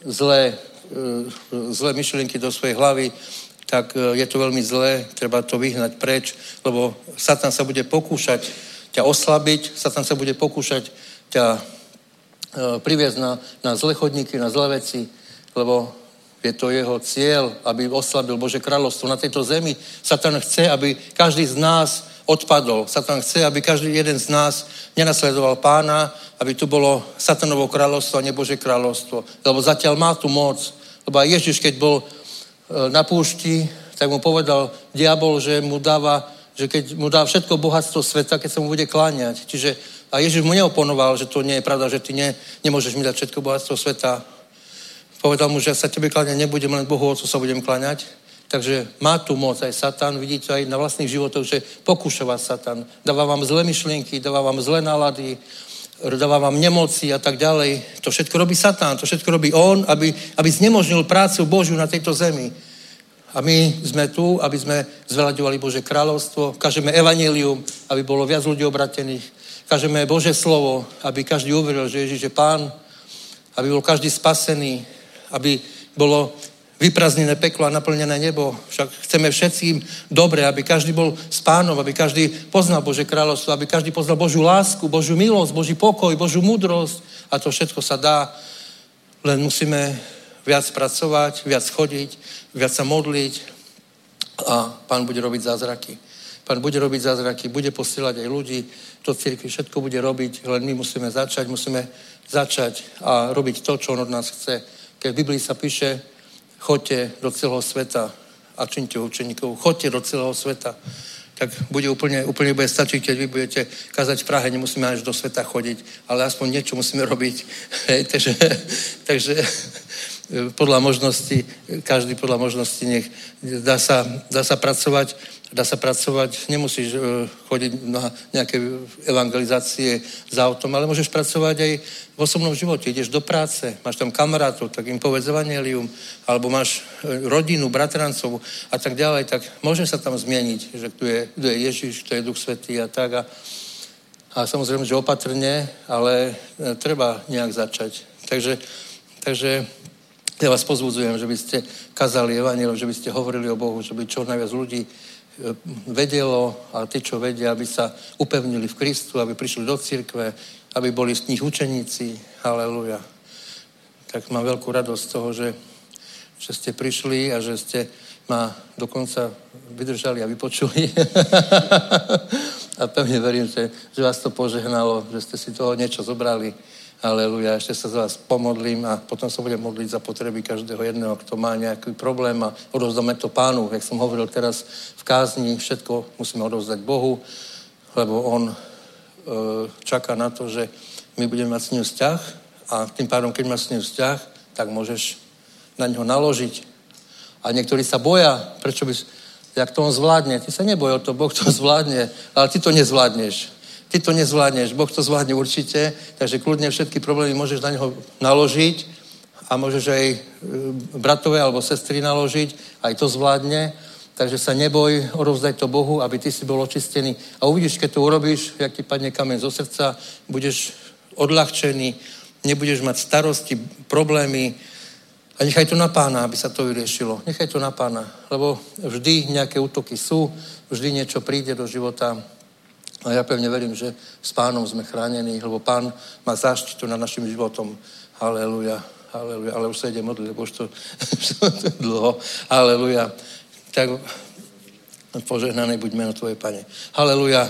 zlé myšlienky do svojej hlavy, tak je to veľmi zlé, treba to vyhnať preč, lebo Satan sa bude pokúšať ťa oslabiť, Satan sa bude pokúšať ťa priviesť na zlé chodníky, na zlé veci, lebo je to jeho cieľ, aby oslabil Božie kráľovstvo na tejto zemi. Satan chce, aby každý z nás odpadol. Satan chce, aby každý jeden z nás nenasledoval Pána, aby tu bolo Satanovo kráľovstvo a nie Božie kráľovstvo. Lebo zatiaľ má tu moc. Lebo aj Ježiš, keď bol na púšti, tak mu povedal diabol, že keď mu dá všetko bohatstvo sveta, keď sa mu bude kláňať. Čiže a Ježiš mu neoponoval, že to nie je pravda, že ty nemôžeš mi dať všetko bohatstvo sveta. Povedal mu, že sa tebe kláňať nebudem, len Bohu Otcu sa budem kláňať. Takže má tu moc aj Satan, vidíte aj na vlastných životoch, že pokúša vás Satan. Dáva vám zlé myšlienky, dáva vám zlé nálady, dáva vám nemoci a tak ďalej. To všetko robí Satan, to všetko robí on, aby znemožnil prácu Božiu na tejto zemi. A my sme tu, aby sme zvelaďovali Božie kráľovstvo, kažeme evanjelium, aby bolo viac ľudí obratených, kažeme Božie slovo, aby každý uveril, že Ježiš je Pán, aby bol každý spasený, aby bolo vyprázdnené peklo a naplnené nebo. Však chceme všetkým dobre, aby každý bol s Pánom, aby každý poznal Božie kráľovstvo, aby každý poznal Božiu lásku, Božiu milosť, Boží pokoj, Božiu múdrosť. A to všetko sa dá, len musíme viac pracovať, viac chodiť, viac sa modliť a Pán bude robiť zázraky. Pán bude robiť zázraky, bude posielať aj ľudí do cirkvi, všetko bude robiť, len my musíme začať a robiť to, čo on od nás chce. Keď v Biblii sa píše, choďte do celého sveta a čiňte učeníkov, choďte do celého sveta, tak bude úplne bude stačiť, keď vy budete kázať v Prahe, nemusíme až do sveta chodiť, ale aspoň niečo musíme robiť. Hej, takže podľa možnosti, každý podľa možnosti nech dá sa pracovať, nemusíš chodiť na nejaké evangelizácie za autom, ale môžeš pracovať aj v osobnom živote. Ideš do práce, máš tam kamarátov, tak im povedz evanjelium, alebo máš rodinu, bratrancov a tak ďalej, tak môže sa tam zmieniť, že kto je Ježiš, kto je Duch Svätý a tak. A samozrejme, že opatrne, ale treba nejak začať. Takže ja vás pozbudzujem, že by ste kazali evanjelium, že by ste hovorili o Bohu, že by čo najviac ľudí vedelo a tí, čo vedia, aby sa upevnili v Kristu, aby prišli do cirkve, aby boli z nich učeníci. Halelujá. Tak mám veľkú radosť z toho, že ste prišli a že ste ma dokonca vydržali a vypočuli. A pevne verím, že vás to požehnalo, že ste si toho niečo zobrali. Halelujá, ešte sa za vás pomodlím a potom sa budem modliť za potreby každého jedného, kto má nejaký problém a odovzdáme to Pánu. Jak som hovoril teraz v kázni, všetko musíme odovzdať Bohu, lebo on čaká na to, že my budeme mať s ním vzťah a tým pádom, keď máš s ním vzťah, tak môžeš na ňo naložiť. A niektorí sa boja, prečo by, jak to on zvládne. Ty sa neboj o to, Boh to zvládne, ale ty to nezvládneš. Ty to nezvládneš, Boh to zvládne určite, takže kľudne všetky problémy môžeš na neho naložiť a môžeš aj bratové alebo sestry naložiť, aj to zvládne, takže sa neboj, odovzdaj to Bohu, aby ty si bol očistený. A uvidíš, keď to urobíš, jak ti padne kameň zo srdca, budeš odľahčený, nebudeš mať starosti, problémy a nechaj to na Pána, aby sa to vyriešilo. Nechaj to na Pána, lebo vždy nejaké útoky sú, vždy niečo príde do života. A ja pevne verím, že s Pánom sme chránení, lebo Pán má záštitu nad našim životom. Halelujá, halelujá. Ale už sa ide modliť, lebo už to dlho. Halelujá. Tak požehnané buď meno Tvoje, Pane. Halelujá.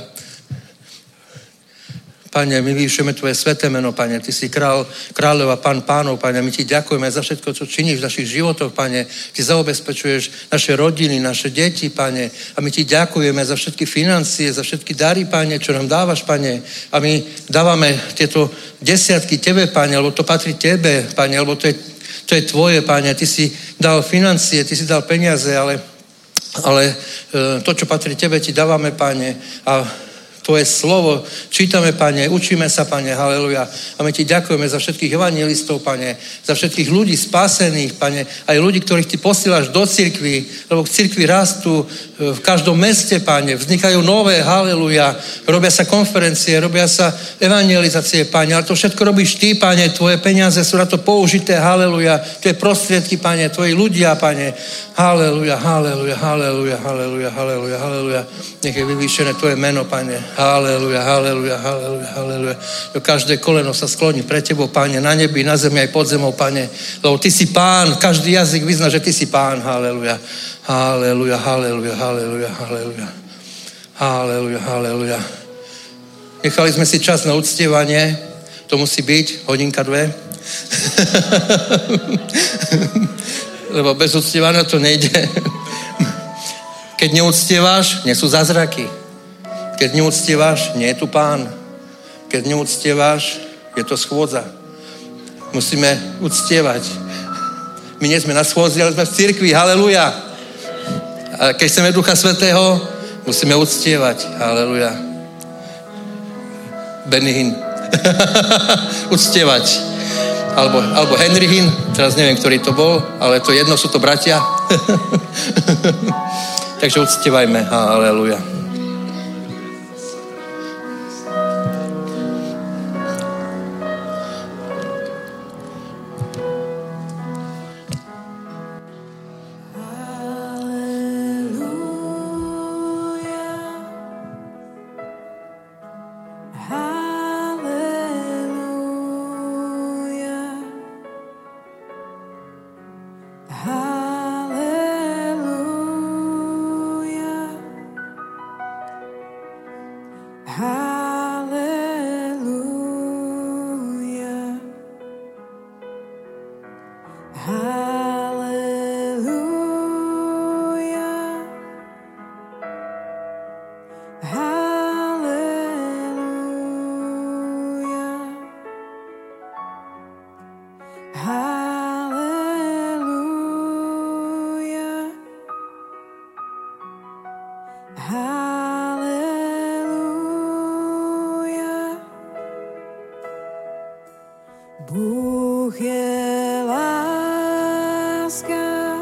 Pane, my vyvyšujeme Tvoje sveté meno, Pane. Ty si kráľov a Pán pánov, Pane. My Ti ďakujeme za všetko, čo činíš v našich životoch, Pane. Ty zaobezpečuješ naše rodiny, naše deti, Pane. A my Ti ďakujeme za všetky financie, za všetky dary, Pane, čo nám dávaš, Pane. A my dávame tieto desiatky Tebe, Pane, lebo to patrí Tebe, Pane, lebo to je Tvoje, Pane. Ty si dal financie, Ty si dal peniaze, ale to, čo patrí Tebe, Ti dávame, Pane. A Tvoje slovo čítame, Pane, učíme sa, Pane, haleluja. A my Ti ďakujeme za všetkých evangelistov, Pane, za všetkých ľudí spásených, Pane, aj ľudí, ktorých Ty posílaš do cirkvi, lebo v cirkvi rastú v každom meste, Pane, vznikajú nové, haleluja, robia sa konferencie, robia sa evangelizácie, Pane, ale to všetko robíš Ty, Pane, Tvoje peniaze sú na to použité, haleluja, Tvoje prostriedky, Pane, Tvoji ľudia, Pane, haleluja, haleluja, haleluja, haleluja, haleluja, haleluja, nech je vyvýšené Tvoje meno, Pane. Halleluja, halleluja, halleluja, halleluja. Každé koleno sa skloní pre Tebou, Pane, na nebi, na zemi, aj pod zemou, Pane. Lebo Ty si Pán, každý jazyk vyzná, že Ty si Pán. Halleluja, halleluja, halleluja, halleluja, halleluja. Haleluja, haleluja. Nechali sme si čas na uctievanie. To musí byť hodinka, 2. Lebo bez uctievania to nejde. Keď neuctieváš, nie sú zázraky. Keď neuctieváš, nie je tu Pán. Keď neuctieváš, je to schôdza. Musíme uctievať. My nie sme na schôdzi, ale sme v cirkvi. Haleluja. A keď chceme Ducha Svätého, musíme uctievať. Haleluja. Benny Hinn. Uctievať. Alebo Henry Hinn. Teraz neviem, ktorý to bol, ale to jedno, sú to bratia. Takže uctievajme. Haleluja. Bůh je láska.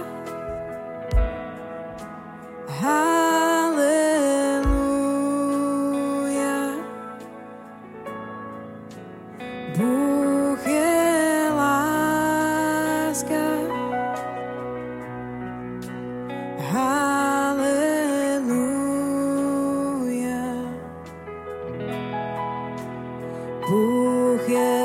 Haleluja. Bůh je láska. Haleluja. Bůh je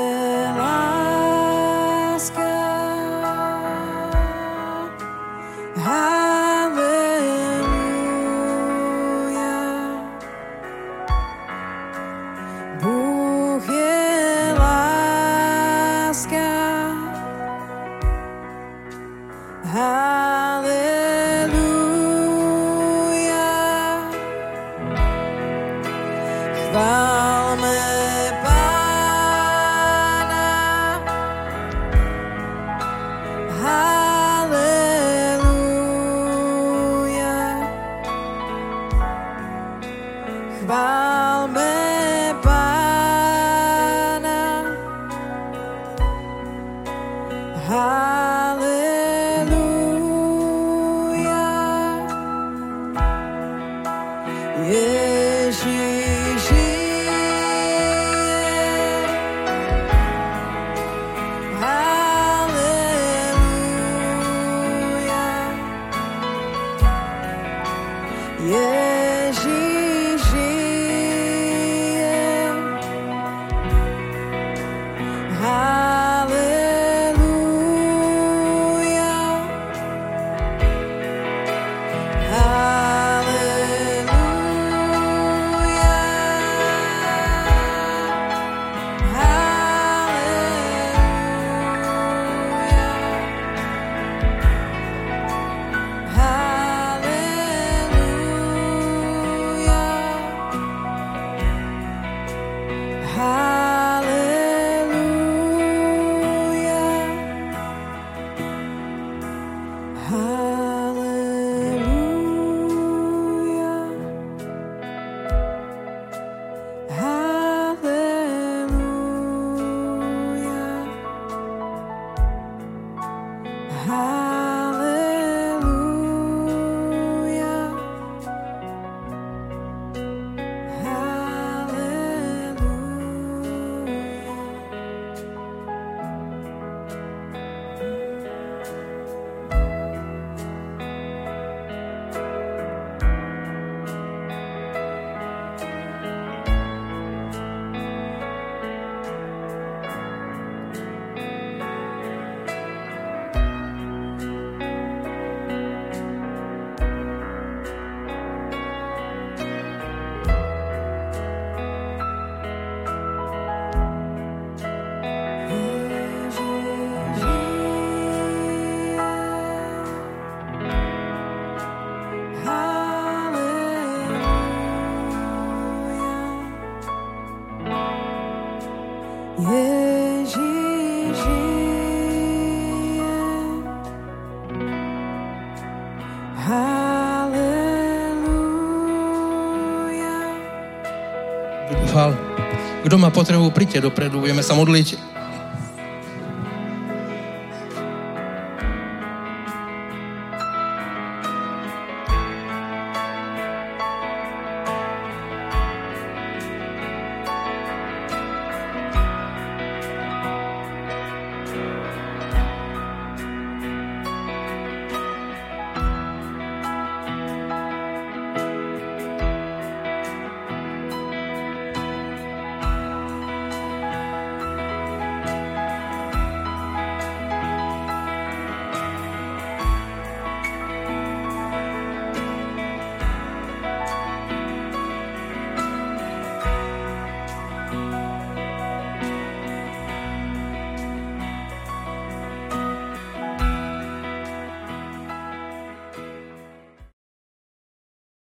pochvál. Kdo má potrebu, príďte dopredu, budeme sa modliť.